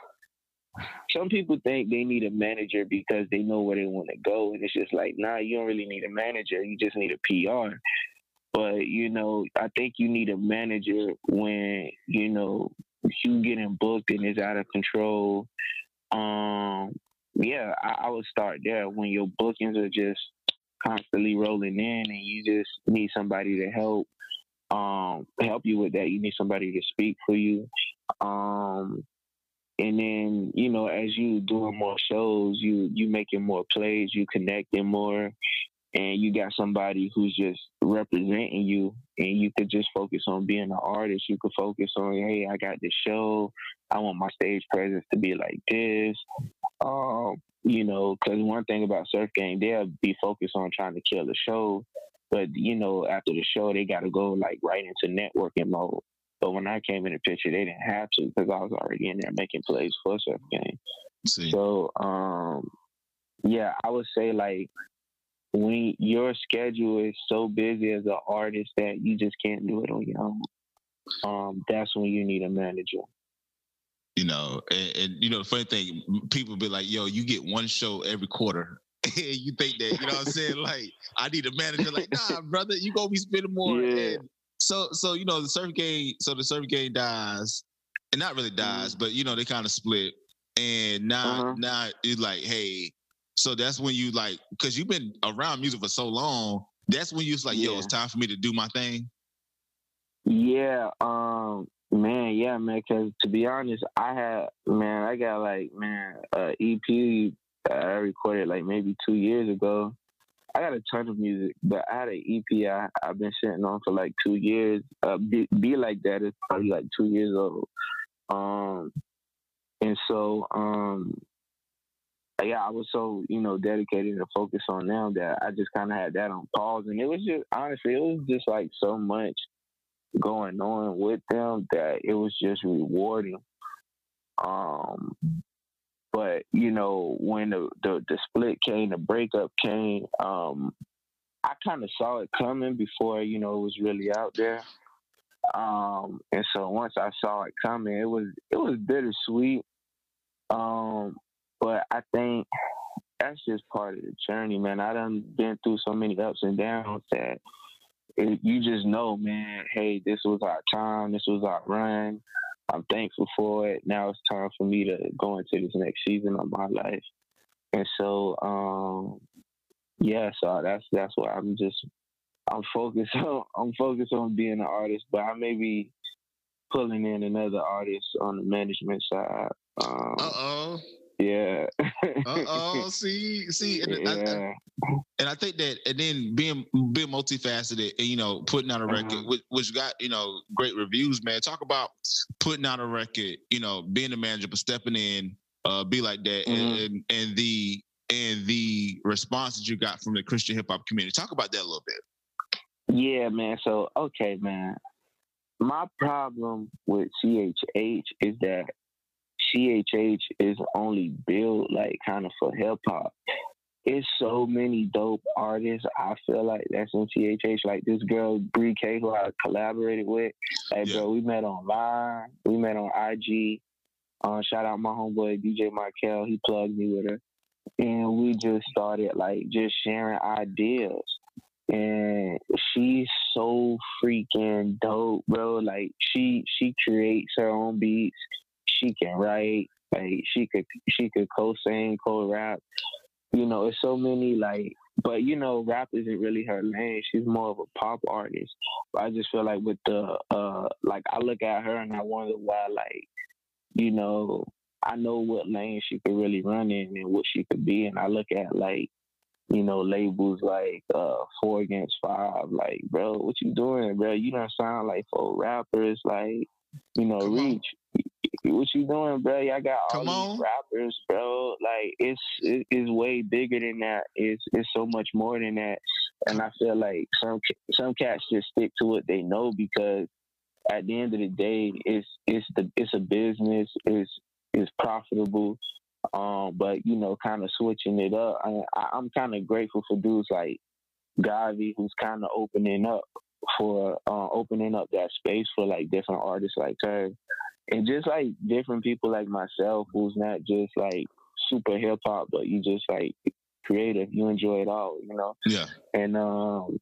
Speaker 4: Some people think they need a manager because they know where they want to go, and it's just like, nah, you don't really need a manager. You just need a P R. But you know, I think you need a manager when you know you getting booked and it's out of control. Um, yeah, I, I would start there when your bookings are just constantly rolling in, and you just need somebody to help um help you with that. You need somebody to speak for you. Um, and then you know, as you doing more shows, you you making more plays, you connecting more, and you got somebody who's just representing you, and you could just focus on being an artist. You could focus on, hey, I got this show. I want my stage presence to be like this. Um, you know, because one thing about Surf Gang, they'll be focused on trying to kill the show, but you know, after the show, they got to go like right into networking mode. But when I came in the picture, they didn't have to because I was already in there making plays for Surf Gang.
Speaker 3: See.
Speaker 4: So, um, yeah, I would say like when your schedule is so busy as an artist that you just can't do it on your own, um, that's when you need a manager.
Speaker 3: You know, and, and you know, the funny thing, people be like, yo, you get one show every quarter. And you think that, you know what I'm saying? Like, I need a manager. Like, nah, brother, you gonna be spending more.
Speaker 4: Yeah.
Speaker 3: And so, so you know, the Surf Gang, so the Surf Gang dies, and not really dies,
Speaker 4: Mhm.
Speaker 3: but you know, they kind of split. And now,
Speaker 4: Uh-huh.
Speaker 3: now it's like, hey, so that's when you like, because you've been around music for so long. That's when you was like, yo,
Speaker 4: Yeah.
Speaker 3: it's time for me to do my thing.
Speaker 4: Yeah, um, man, yeah, man. Because to be honest, I had, man, I got like, man, uh, E P uh, I recorded like maybe two years ago, I got a ton of music, but I had an E P I I've been sitting on for like two years. Uh, be, be like that is probably like two years old. Um, and so um, yeah, I was so you know dedicated and focused on them that I just kind of had that on pause, and it was just honestly, it was just like so much going on with them that it was just rewarding. Um, but you know, when the, the the split came, the breakup came, um, I kind of saw it coming before you know it was really out there. Um, and so once I saw it coming, it was it was bittersweet. Um, but I think that's just part of the journey, man. I done been through so many ups and downs that it, you just know, man, hey, this was our time, this was our run. I'm thankful for it. Now it's time for me to go into this next season of my life. And so, um, yeah, so that's that's why I'm just I'm focused on I'm focused on being an artist, but I may be pulling in another artist on the management side. Um,
Speaker 3: uh oh.
Speaker 4: Yeah.
Speaker 3: uh oh. See, see, and,
Speaker 4: yeah.
Speaker 3: I, I, and I think that, and then being being multifaceted, and you know, putting out a record, uh-huh. which, which got you know great reviews, man. Talk about putting out a record, you know, being a manager, but stepping in, uh, be like that, mm-hmm. and, and and the and the response that you got from the Christian hip hop community. Talk about that a little bit.
Speaker 4: Yeah, man. So okay, man. My problem with C H H is that C H H is only built like kind of for hip hop. It's so many dope artists. I feel like that's in C H H. Like this girl Bree K, who I collaborated with. Hey, yeah. Bro, we met online. We met on I G. Uh, shout out my homeboy D J Markel. He plugged me with her, and we just started like just sharing ideas. And she's so freaking dope, bro. Like she she creates her own beats. She can write, like she could she could co-sing, co-rap. You know, it's so many like, but you know, rap isn't really her lane. She's more of a pop artist. But I just feel like with the uh, like I look at her and I wonder why, like, you know, I know what lane she could really run in and what she could be, and I look at like, you know, labels like uh, Four Against Five, like, bro, what you doing, bro? You don't sound like four rappers, like, you know, Come Reach. On. What you doing, bro? Y'all got all
Speaker 3: Come
Speaker 4: these
Speaker 3: on.
Speaker 4: rappers, bro. Like it's it, it's way bigger than that. It's it's so much more than that. And I feel like some some cats just stick to what they know because at the end of the day, it's it's the it's a business. It's it's profitable. Um, but you know, kind of switching it up. I, I, I'm kind of grateful for dudes like Gavi, who's kind of opening up for uh, opening up that space for like different artists like her. And just like different people like myself, who's not just like super hip hop, but you just like creative. You enjoy it all, you know.
Speaker 3: Yeah.
Speaker 4: And um,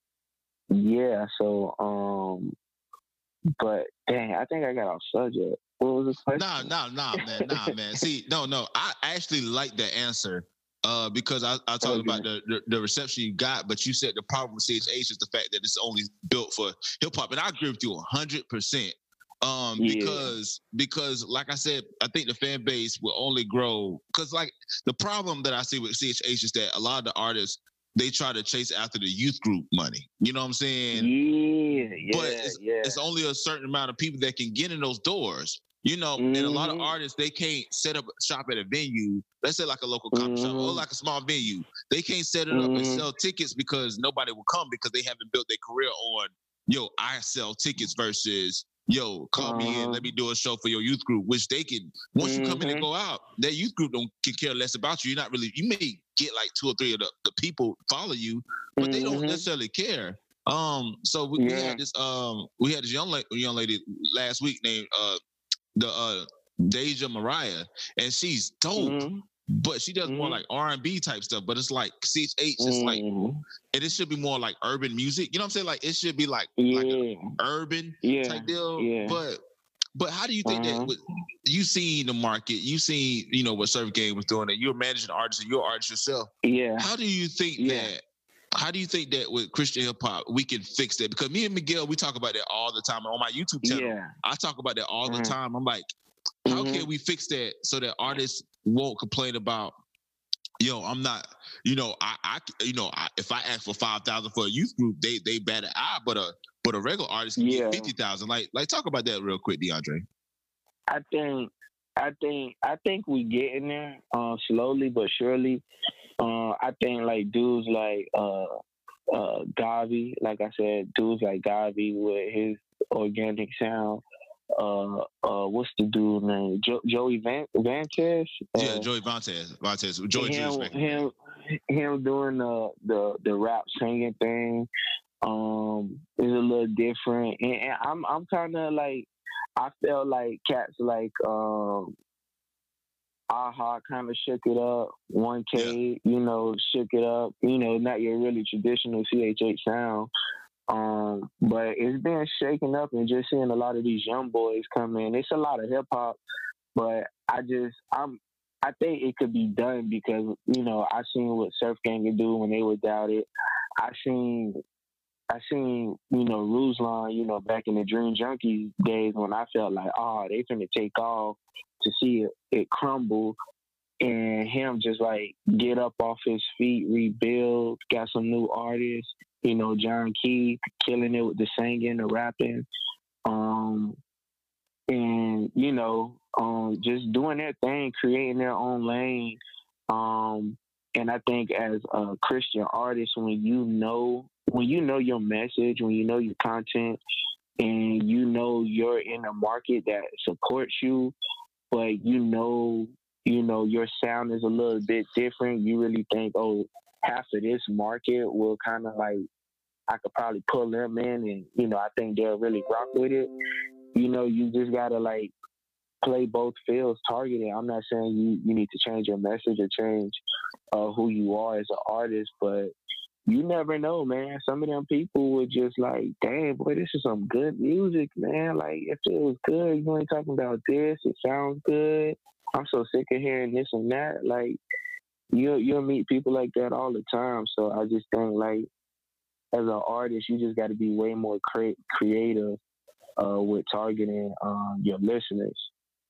Speaker 4: yeah. So um, but dang, I think I got off subject. What was the question?
Speaker 3: Nah, nah, nah, man, nah, man. See, no, no. I actually like that answer. Uh, because I, I talked okay. about the, the the reception you got, but you said the problem with C H H is the fact that it's only built for hip hop, and I agree with you a hundred percent. Um, yeah. because because like I said, I think the fan base will only grow because like the problem that I see with C H H is that a lot of the artists they try to chase after the youth group money. You know what I'm saying?
Speaker 4: Yeah, yeah,
Speaker 3: but it's,
Speaker 4: yeah.
Speaker 3: it's only a certain amount of people that can get in those doors. You know, mm-hmm. and a lot of artists they can't set up shop at a venue. Let's say like a local coffee mm-hmm. shop or like a small venue. They can't set it mm-hmm. up and sell tickets because nobody will come because they haven't built their career on yo. I sell tickets versus. Yo, call uh-huh. me in. Let me do a show for your youth group, which they can. Once mm-hmm. you come in and go out, that youth group don't can care less about you. You're not really. You may get like two or three of the, the people follow you, but mm-hmm. they don't necessarily care. Um, so we, yeah. we had this. Um, we had this young la- young lady last week named uh the uh Deja Mariah, and she's dope. Mm-hmm. But she does mm-hmm. more like R and B type stuff. But it's like C H H, it's mm-hmm. like, and it should be more like urban music. You know what I'm saying? Like it should be like
Speaker 4: yeah.
Speaker 3: like an urban
Speaker 4: yeah.
Speaker 3: type deal.
Speaker 4: Yeah.
Speaker 3: But but how do you think uh-huh. that? With, you seen the market, you seen you know what Surf Game was doing, and you're managing artists, and you're an artist yourself.
Speaker 4: Yeah.
Speaker 3: How do you think yeah. that? How do you think that with Christian hip hop we can fix that? Because me and Miguel, we talk about that all the time on my YouTube channel. Yeah. I talk about that all uh-huh. the time. I'm like, how mm-hmm. can we fix that so that artists won't complain about yo, I'm not, you know, I, I you know, I, if I ask for five thousand for a youth group, they they bat an eye, but a but a regular artist can
Speaker 4: Yeah.
Speaker 3: get fifty thousand. Like like talk about that real quick, DeAndre.
Speaker 4: I think, I think, I think we getting there, uh, slowly but surely. Uh, I think like dudes like uh, uh, Gavi, like I said, dudes like Gavi with his organic sound. Uh, uh, what's the dude name? Jo- Joey Van- Vantes. Uh,
Speaker 3: Yeah, Joey Vantes, Vantes, Joey
Speaker 4: him,
Speaker 3: Juice.
Speaker 4: him, him doing the the the rap singing thing um is a little different, and, and I'm I'm kind of like I felt like cats like um Aha kind of shook it up. one K, you know, shook it up. You know, not your really traditional C H H sound. Um, but it's been shaken up, and just seeing a lot of these young boys come in. It's a lot of hip hop, but I just I'm I think it could be done because you know I seen what Surf Gang could do when they were doubted. I seen I seen you know Ruslan, you know back in the Dream Junkies days when I felt like oh they finna take off, to see it, it crumble. And him just like get up off his feet, rebuild, got some new artists, you know, John Key killing it with the singing, the rapping, um, and you know, um, just doing their thing, creating their own lane. Um, and I think as a Christian artist, when you know, when you know your message, when you know your content, and you know you're in a market that supports you, but you know. You know, your sound is a little bit different. You really think, oh, half of this market will kind of like, I could probably pull them in and, you know, I think they'll really rock with it. You know, you just got to like play both fields targeted. I'm not saying you, you need to change your message or change uh, who you are as an artist, but you never know, man. Some of them people were just like, damn, boy, this is some good music, man. Like, if it was good, you ain't talking about this. It sounds good. I'm so sick of hearing this and that. Like, you'll, you'll meet people like that all the time. So I just think, like, as an artist, you just got to be way more cre- creative uh, with targeting um, your listeners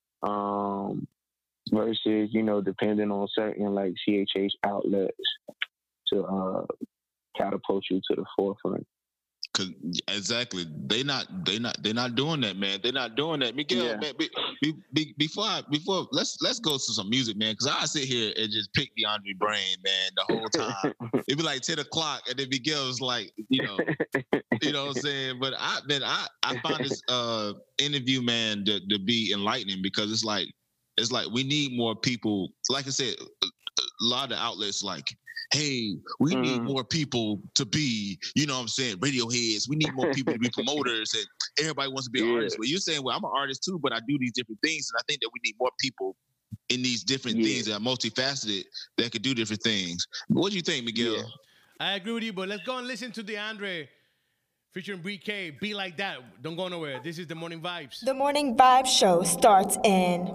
Speaker 4: um, versus, you know, depending on certain, like, C H H outlets to uh, catapult you to the forefront.
Speaker 3: Cause exactly, they not they not they not doing that, man. They're not doing that, Miguel.
Speaker 4: Yeah.
Speaker 3: Man, be, be, be, before I, before let's let's go to some music, man. Cause I sit here and just pick DeAndre brain, man, the whole time. It'd be like ten o'clock, and then Miguel was like, you know, you know what I'm saying. But I, man, I I found this uh interview, man, to, to be enlightening because it's like it's like we need more people. Like I said, a lot of outlets like. Hey, we mm. need more people to be, you know what I'm saying, radio heads. We need more people to be promoters, and everybody wants to be an
Speaker 4: yeah.
Speaker 3: artist. But you're saying, well, I'm an artist too, but I do these different things, and I think that we need more people in these different yeah. things that are multifaceted that could do different things. What do you think, Miguel?
Speaker 2: Yeah. I agree with you, but let's go and listen to DeAndre featuring B K, Be Like That. Don't go nowhere. This is The Morning Vibes.
Speaker 1: The Morning Vibes show starts in...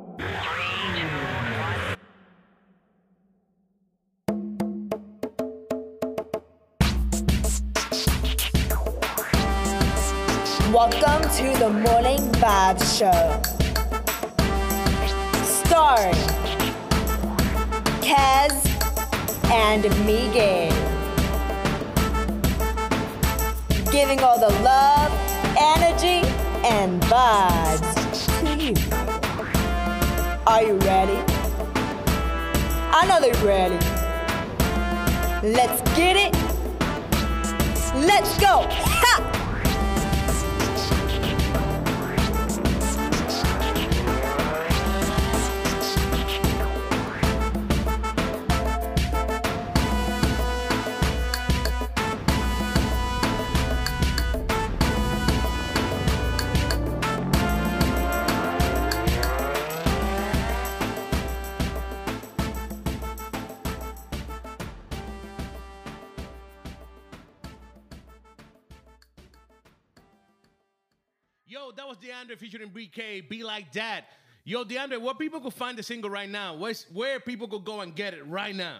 Speaker 1: Welcome to the Morning Vibes Show. Starring Kaz and Miguel. Giving all the love, energy, and vibes to you. Are you ready? I know they're ready. Let's get it. Let's go. Ha!
Speaker 2: Yo, that was DeAndre featuring B K, Be Like That. Yo, DeAndre, where people could find the single right now? Where's, where people could go and get it right now?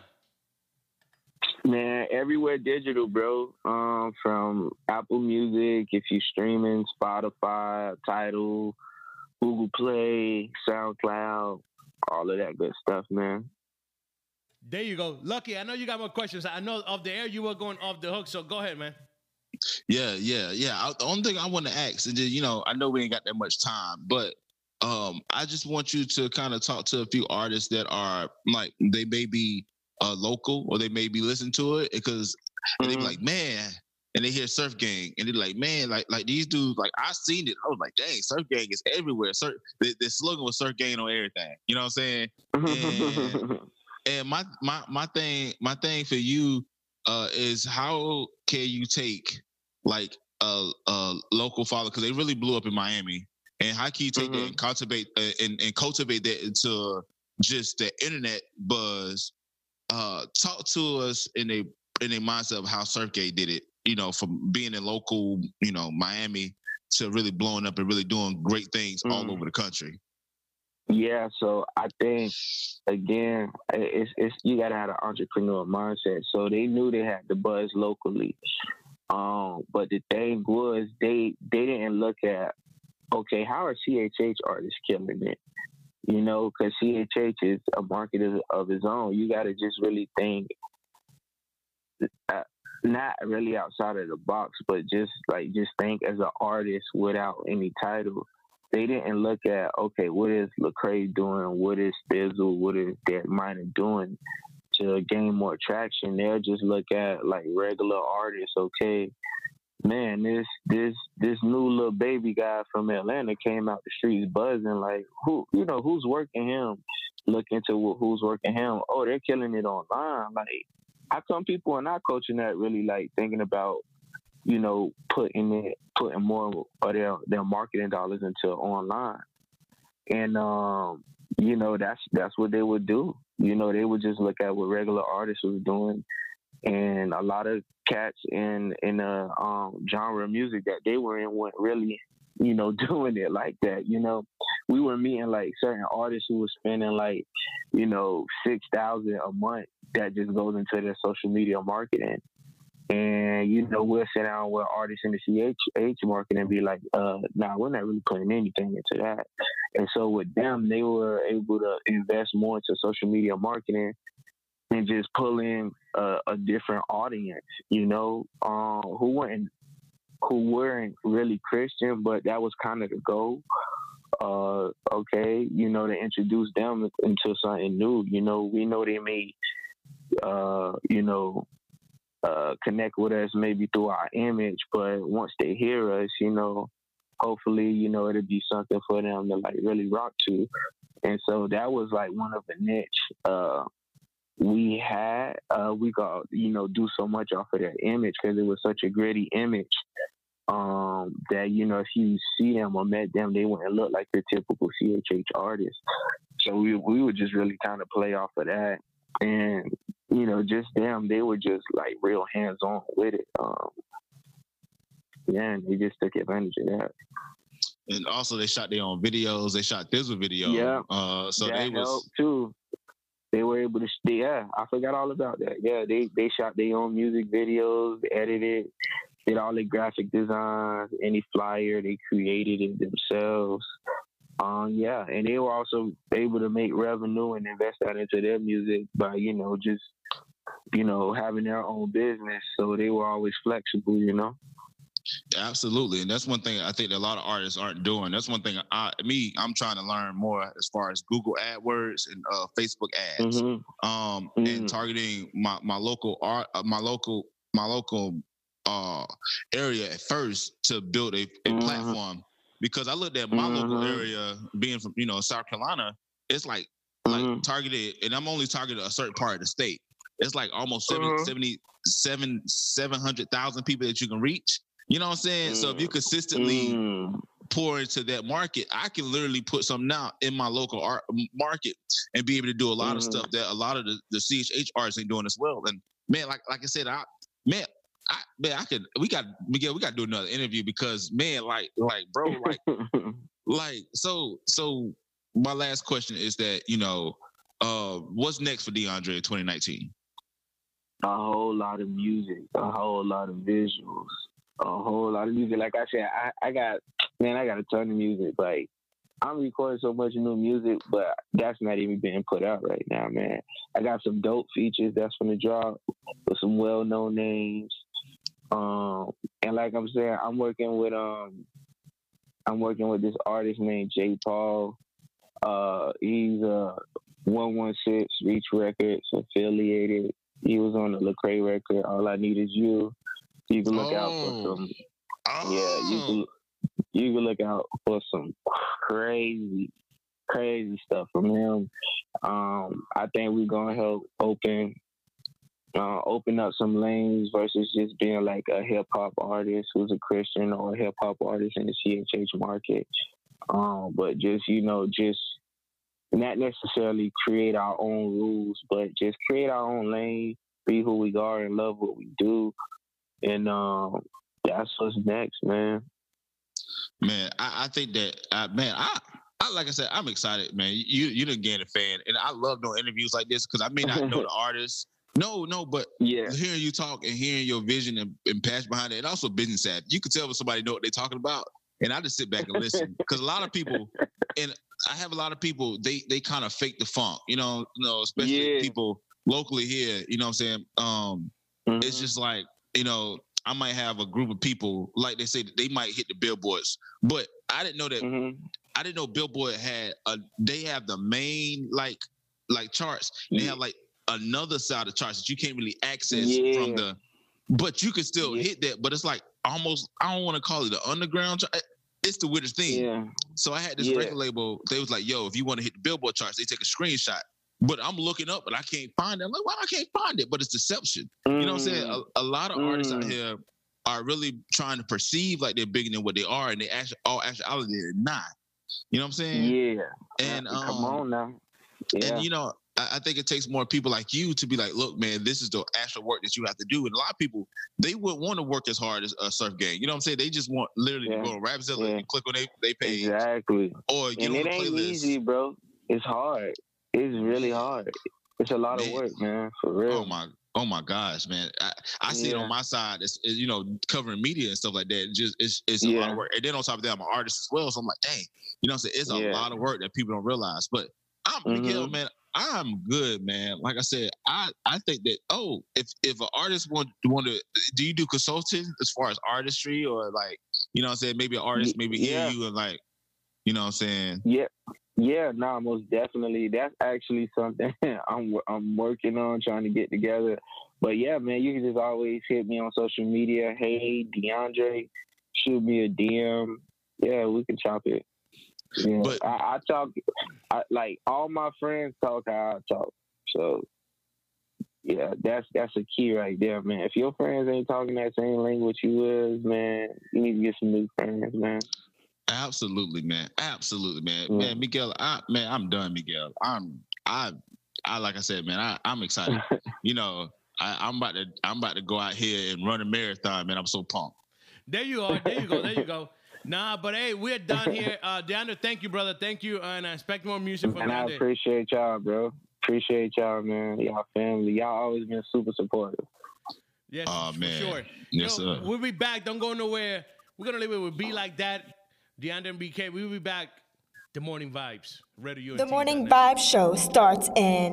Speaker 4: Man, everywhere digital, bro. Um, from Apple Music, if you're streaming, Spotify, Tidal, Google Play, SoundCloud, all of that good stuff, man.
Speaker 2: There you go. Lucky, I know you got more questions. I know off the air you were going off the hook, so go ahead, man.
Speaker 3: Yeah, yeah, yeah. I, the only thing I want to ask, and just, you know, I know we ain't got that much time, but um, I just want you to kind of talk to a few artists that are like they may be uh, local or they may be listening to it because mm-hmm. they be like, man, and they hear Surf Gang and they're like, man, like like these dudes, like I seen it. I was like, dang, Surf Gang is everywhere. Surf, the, the slogan was Surf Gang on everything. You know what I'm saying? And, and my my my thing, my thing for you uh, is how can you take like a, a local father, because they really blew up in Miami, and how can you take mm-hmm. that and cultivate uh, and, and cultivate that into just the internet buzz? Uh, talk to us in a in a mindset of how Surfgate did it, you know, from being in local, you know, Miami to really blowing up and really doing great things mm. all over the country.
Speaker 4: Yeah, so I think again, it's it's you gotta have an entrepreneur mindset. So they knew they had the buzz locally. Um, but the thing was, they they didn't look at, okay, how are C H H artists killing it? You know, because C H H is a market of, of his own. You got to just really think, uh, not really outside of the box, but just like just think as an artist without any title. They didn't look at, okay, what is Lecrae doing? What is Thizzle? What is Dead Miner doing to gain more traction? They'll just look at like regular artists. Okay, man, this this this new little baby guy from Atlanta came out the streets buzzing. Like, who, you know, who's working him? Look into who's working him. Oh, they're killing it online. Like, how come people are not coaching that really like thinking about, you know, putting it, putting more of their, their marketing dollars into online? And, um, you know, that's, that's what they would do. You know, they would just look at what regular artists was doing. And a lot of cats in, in the um, genre of music that they were in weren't really, you know, doing it like that. You know, we were meeting like certain artists who were spending like, you know, six thousand a month that just goes into their social media marketing. And, you know, we'll sit down with artists in the C H H market and be like, uh, nah, we're not really putting anything into that. And so with them, they were able to invest more into social media marketing and just pull in uh, a different audience, you know, um, who weren't, who weren't really Christian, but that was kind of the goal. Uh, okay, you know, to introduce them into something new. You know, we know they may, uh, you know, Uh, connect with us maybe through our image, but once they hear us, you know, hopefully, you know, it'll be something for them to like really rock to. And so that was like one of the niche uh, we had. Uh, we got, you know, do so much off of their image because it was such a gritty image um, that, you know, if you see them or met them, they wouldn't look like your typical C H H artist. So we we would just really kind of play off of that. And, you know, just them, they were just like real hands-on with it. Um, yeah, and they just took advantage of that.
Speaker 3: And also, they shot their own videos. They shot this video.
Speaker 4: Yeah,
Speaker 3: uh, so
Speaker 4: that
Speaker 3: they was
Speaker 4: helped too. They were able to. Yeah, I forgot all about that. Yeah, they they shot their own music videos, edited, did all the graphic designs, any flyer, they created it themselves. Um, yeah, and they were also able to make revenue and invest that into their music by, you know, just, you know, having their own business. So they were always flexible, you know.
Speaker 3: Absolutely, and that's one thing I think that a lot of artists aren't doing. That's one thing I, me, I'm trying to learn more as far as Google AdWords and uh, Facebook ads, mm-hmm. um, mm-hmm. and targeting my my local art, uh, my local my local uh, area at first to build a, a mm-hmm. platform. Because I looked at my mm-hmm. local area, being from, you know, South Carolina, it's like like mm-hmm. targeted, and I'm only targeted a certain part of the state. It's like almost mm-hmm. seventy, seventy-seven, seven hundred thousand people that you can reach. You know what I'm saying? Mm-hmm. So if you consistently mm-hmm. pour into that market, I can literally put something out in my local art market and be able to do a lot mm-hmm. of stuff that a lot of the, the C H H artists ain't doing as well. And man, like like I said, I man. I, man, I could. We got Miguel. We got to do another interview because, man, like, like, bro, like, like, so, so. My last question is that, you know, uh, what's next for DeAndre in twenty nineteen?
Speaker 4: A whole lot of music, a whole lot of visuals, a whole lot of music. Like I said, I, I got, man, I got a ton of music. Like, I'm recording so much new music, but that's not even being put out right now, man. I got some dope features that's gonna drop with some well-known names. Um, and like I'm saying, I'm working with um, I'm working with this artist named J. Paul. Uh, he's uh one one six Reach Records affiliated. He was on the Lecrae record. All I Need Is You. You can look oh. out for some. Oh. Yeah, you can. You can look out for some crazy, crazy stuff from him. Um, I think we're gonna help open, uh, open up some lanes versus just being like a hip hop artist who's a Christian or a hip hop artist in the C H H market. Um, but just you know, just not necessarily create our own rules, but just create our own lane, be who we are, and love what we do. And um, that's what's next, man.
Speaker 3: Man, I, I think that, uh, man, I, I like I said, I'm excited, man. You you done gain a fan, and I love doing interviews like this because I may not know the artist. No, no, but yeah. hearing you talk and hearing your vision and, and passion behind it, and also business savvy. You can tell when somebody know what they're talking about, and I just sit back and listen because a lot of people, and I have a lot of people, they they kind of fake the funk, you know, you know, especially yeah. people locally here. You know what I'm saying? Um, mm-hmm. It's just like, you know. I might have a group of people, like they say, they might hit the billboards, but I didn't know that. Mm-hmm. I didn't know Billboard had a. They have the main like like charts. They yeah. have like another side of charts that you can't really access yeah. from the. But you can still yeah. hit that. But it's like almost. I don't want to call it the underground chart. It's the weirdest thing. Yeah. So I had this yeah. record label. They was like, "Yo, if you want to hit the Billboard charts, they take a screenshot." But I'm looking up, but I can't find it. I'm like, why I can't find it? But it's deception. Mm. You know what I'm saying? A, a lot of mm. artists out here are really trying to perceive like they're bigger than what they are, and they actually, all actuality, they're not. You know what I'm saying?
Speaker 4: Yeah.
Speaker 3: And um,
Speaker 4: come on now. Yeah.
Speaker 3: And you know, I, I think it takes more people like you to be like, look, man, this is the actual work that you have to do. And a lot of people, they wouldn't want to work as hard as a Surf Gang. You know what I'm saying? They just want literally yeah. to go on Rapzilla yeah. and click on they, they page.
Speaker 4: Exactly.
Speaker 3: Or get
Speaker 4: and
Speaker 3: on
Speaker 4: it
Speaker 3: the
Speaker 4: ain't
Speaker 3: playlist.
Speaker 4: Easy, bro. It's hard. It's really hard. It's a lot man. of work, man, for real.
Speaker 3: Oh my, oh my gosh, man! I, I see yeah. it on my side. It's, it's you know covering media and stuff like that. It just it's it's a yeah. lot of work. And then on top of that, I'm an artist as well. So I'm like, dang, you know, what I'm saying? It's a yeah. lot of work that people don't realize. But I'm mm-hmm. Miguel, man. I'm good, man. Like I said, I I think that oh, if if an artist want want to, do you do consulting as far as artistry or like you know what I'm saying? Maybe an artist maybe
Speaker 4: yeah.
Speaker 3: hear you and like you know what I'm saying?
Speaker 4: Yeah. Yeah, no, nah, most definitely. That's actually something I'm I'm working on, trying to get together. But yeah, man, you can just always hit me on social media. Hey, DeAndre, shoot me a D M. Yeah, we can chop it. Yeah, but I, I talk I, like all my friends talk how I talk. So yeah, that's that's a key right there, man. If your friends ain't talking that same language you is, man, you need to get some new friends, man.
Speaker 3: Absolutely, man. Absolutely, man. Mm. Man, Miguel, I, man, I'm done, Miguel. I'm, I, I, like I said, man, I, I'm excited. you know, I, I'm about to, I'm about to go out here and run a marathon, man. I'm so pumped.
Speaker 2: There you are. There you go. There you go. Nah, but hey, we're done here. Uh, DeAndre, thank you, brother. Thank you, and I expect more music from you.
Speaker 4: And I appreciate y'all, bro. Appreciate y'all, man. Y'all family. Y'all always been super supportive.
Speaker 2: Yes,
Speaker 3: oh,
Speaker 2: for
Speaker 3: man.
Speaker 2: sure.
Speaker 3: Yes,
Speaker 2: you know,
Speaker 3: sir.
Speaker 2: We'll be back. Don't go nowhere. We're gonna leave it with Be Like That. DeAndre and B K, we'll be back. The Morning Vibes. Radio
Speaker 1: the Morning Vibes show starts in.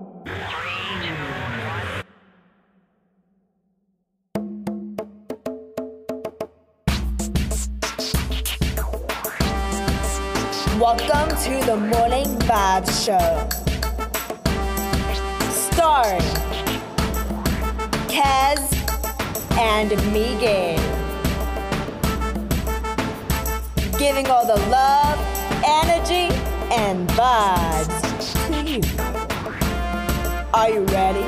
Speaker 1: Welcome to the Morning Vibes show. Starring Kaz and Miguel. Giving all the love, energy, and vibes to you. Are you ready?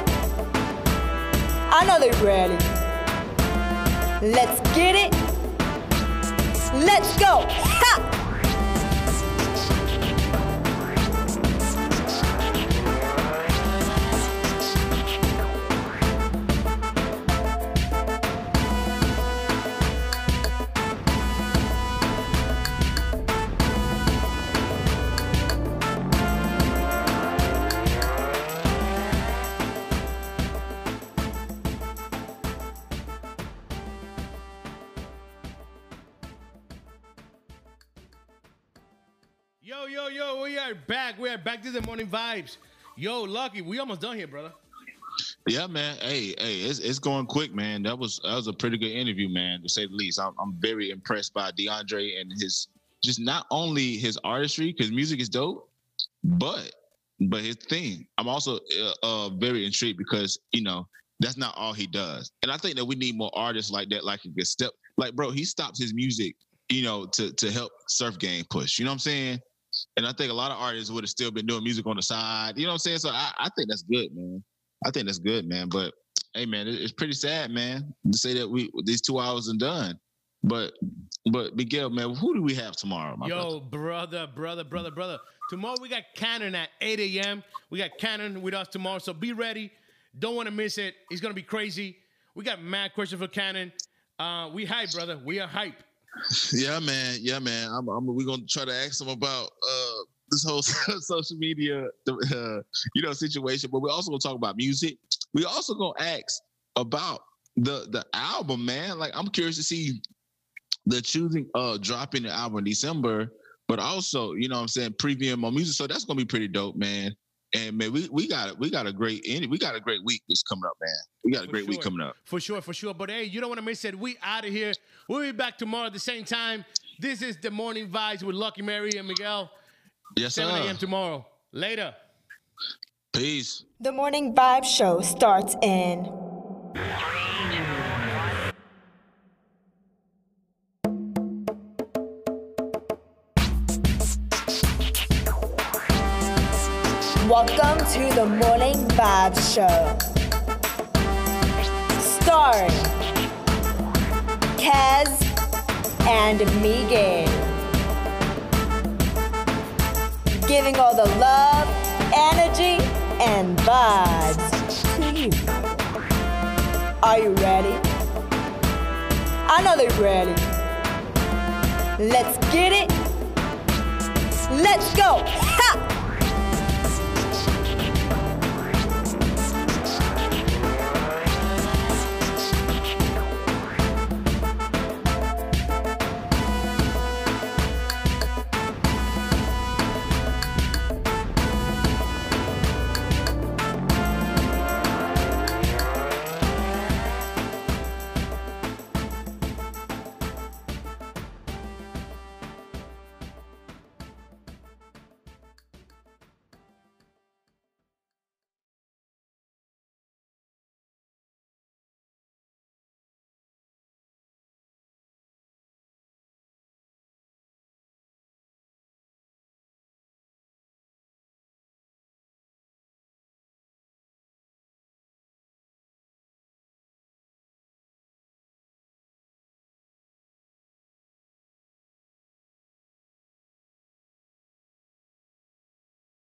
Speaker 1: I know they're ready. Let's get it. Let's go. Ha!
Speaker 2: Yo, yo, yo, we are back. We are back to the morning vibes. Yo, Lucky, we almost done here, brother.
Speaker 3: Yeah, man. Hey, hey, it's it's going quick, man. That was that was a pretty good interview, man, to say the least. I'm I'm very impressed by DeAndre and his just not only his artistry, because music is dope, but but his thing. I'm also uh, uh, very intrigued because you know that's not all he does, and I think that we need more artists like that, like a good step. Like, bro, he stops his music, you know, to to help Surf Game push. You know what I'm saying? And I think a lot of artists would have still been doing music on the side. You know what I'm saying? So I, I think that's good, man. I think that's good, man. But hey, man, it, it's pretty sad, man, to say that we these two hours and done. But but Miguel, man, who do we have tomorrow, my
Speaker 2: Yo,
Speaker 3: brother?
Speaker 2: brother, brother, brother, brother. Tomorrow we got Cannon at eight a.m. We got Cannon with us tomorrow, so be ready. Don't want to miss it. It's gonna be crazy. We got mad questions for Cannon. Uh, we hype, brother. We are hype.
Speaker 3: Yeah, man. Yeah, man. I'm, I'm, we're going to try to ask them about uh, this whole social media, uh, you know, situation. But we're also going to talk about music. We also going to ask about the the album, man. Like, I'm curious to see the choosing uh dropping the album in December, but also, you know what I'm saying, previewing more music. So that's going to be pretty dope, man. And man, we we got we got a great we got a great week that's coming up, man. We got a
Speaker 2: For
Speaker 3: great
Speaker 2: sure.
Speaker 3: week coming up.
Speaker 2: For sure, for sure. But hey, you don't want to miss it. We out of here. We'll be back tomorrow at the same time. This is the Morning Vibes with Lucky Mary and Miguel.
Speaker 3: Yes, sir.
Speaker 2: seven a.m. tomorrow. Later.
Speaker 3: Peace.
Speaker 1: The Morning Vibe Show starts in Welcome to the Morning Vibe Show. Starring Kaz and Miguel. Giving all the love, energy, and vibes to you. Are you ready? I know they're ready. Let's get it. Let's go. Ha!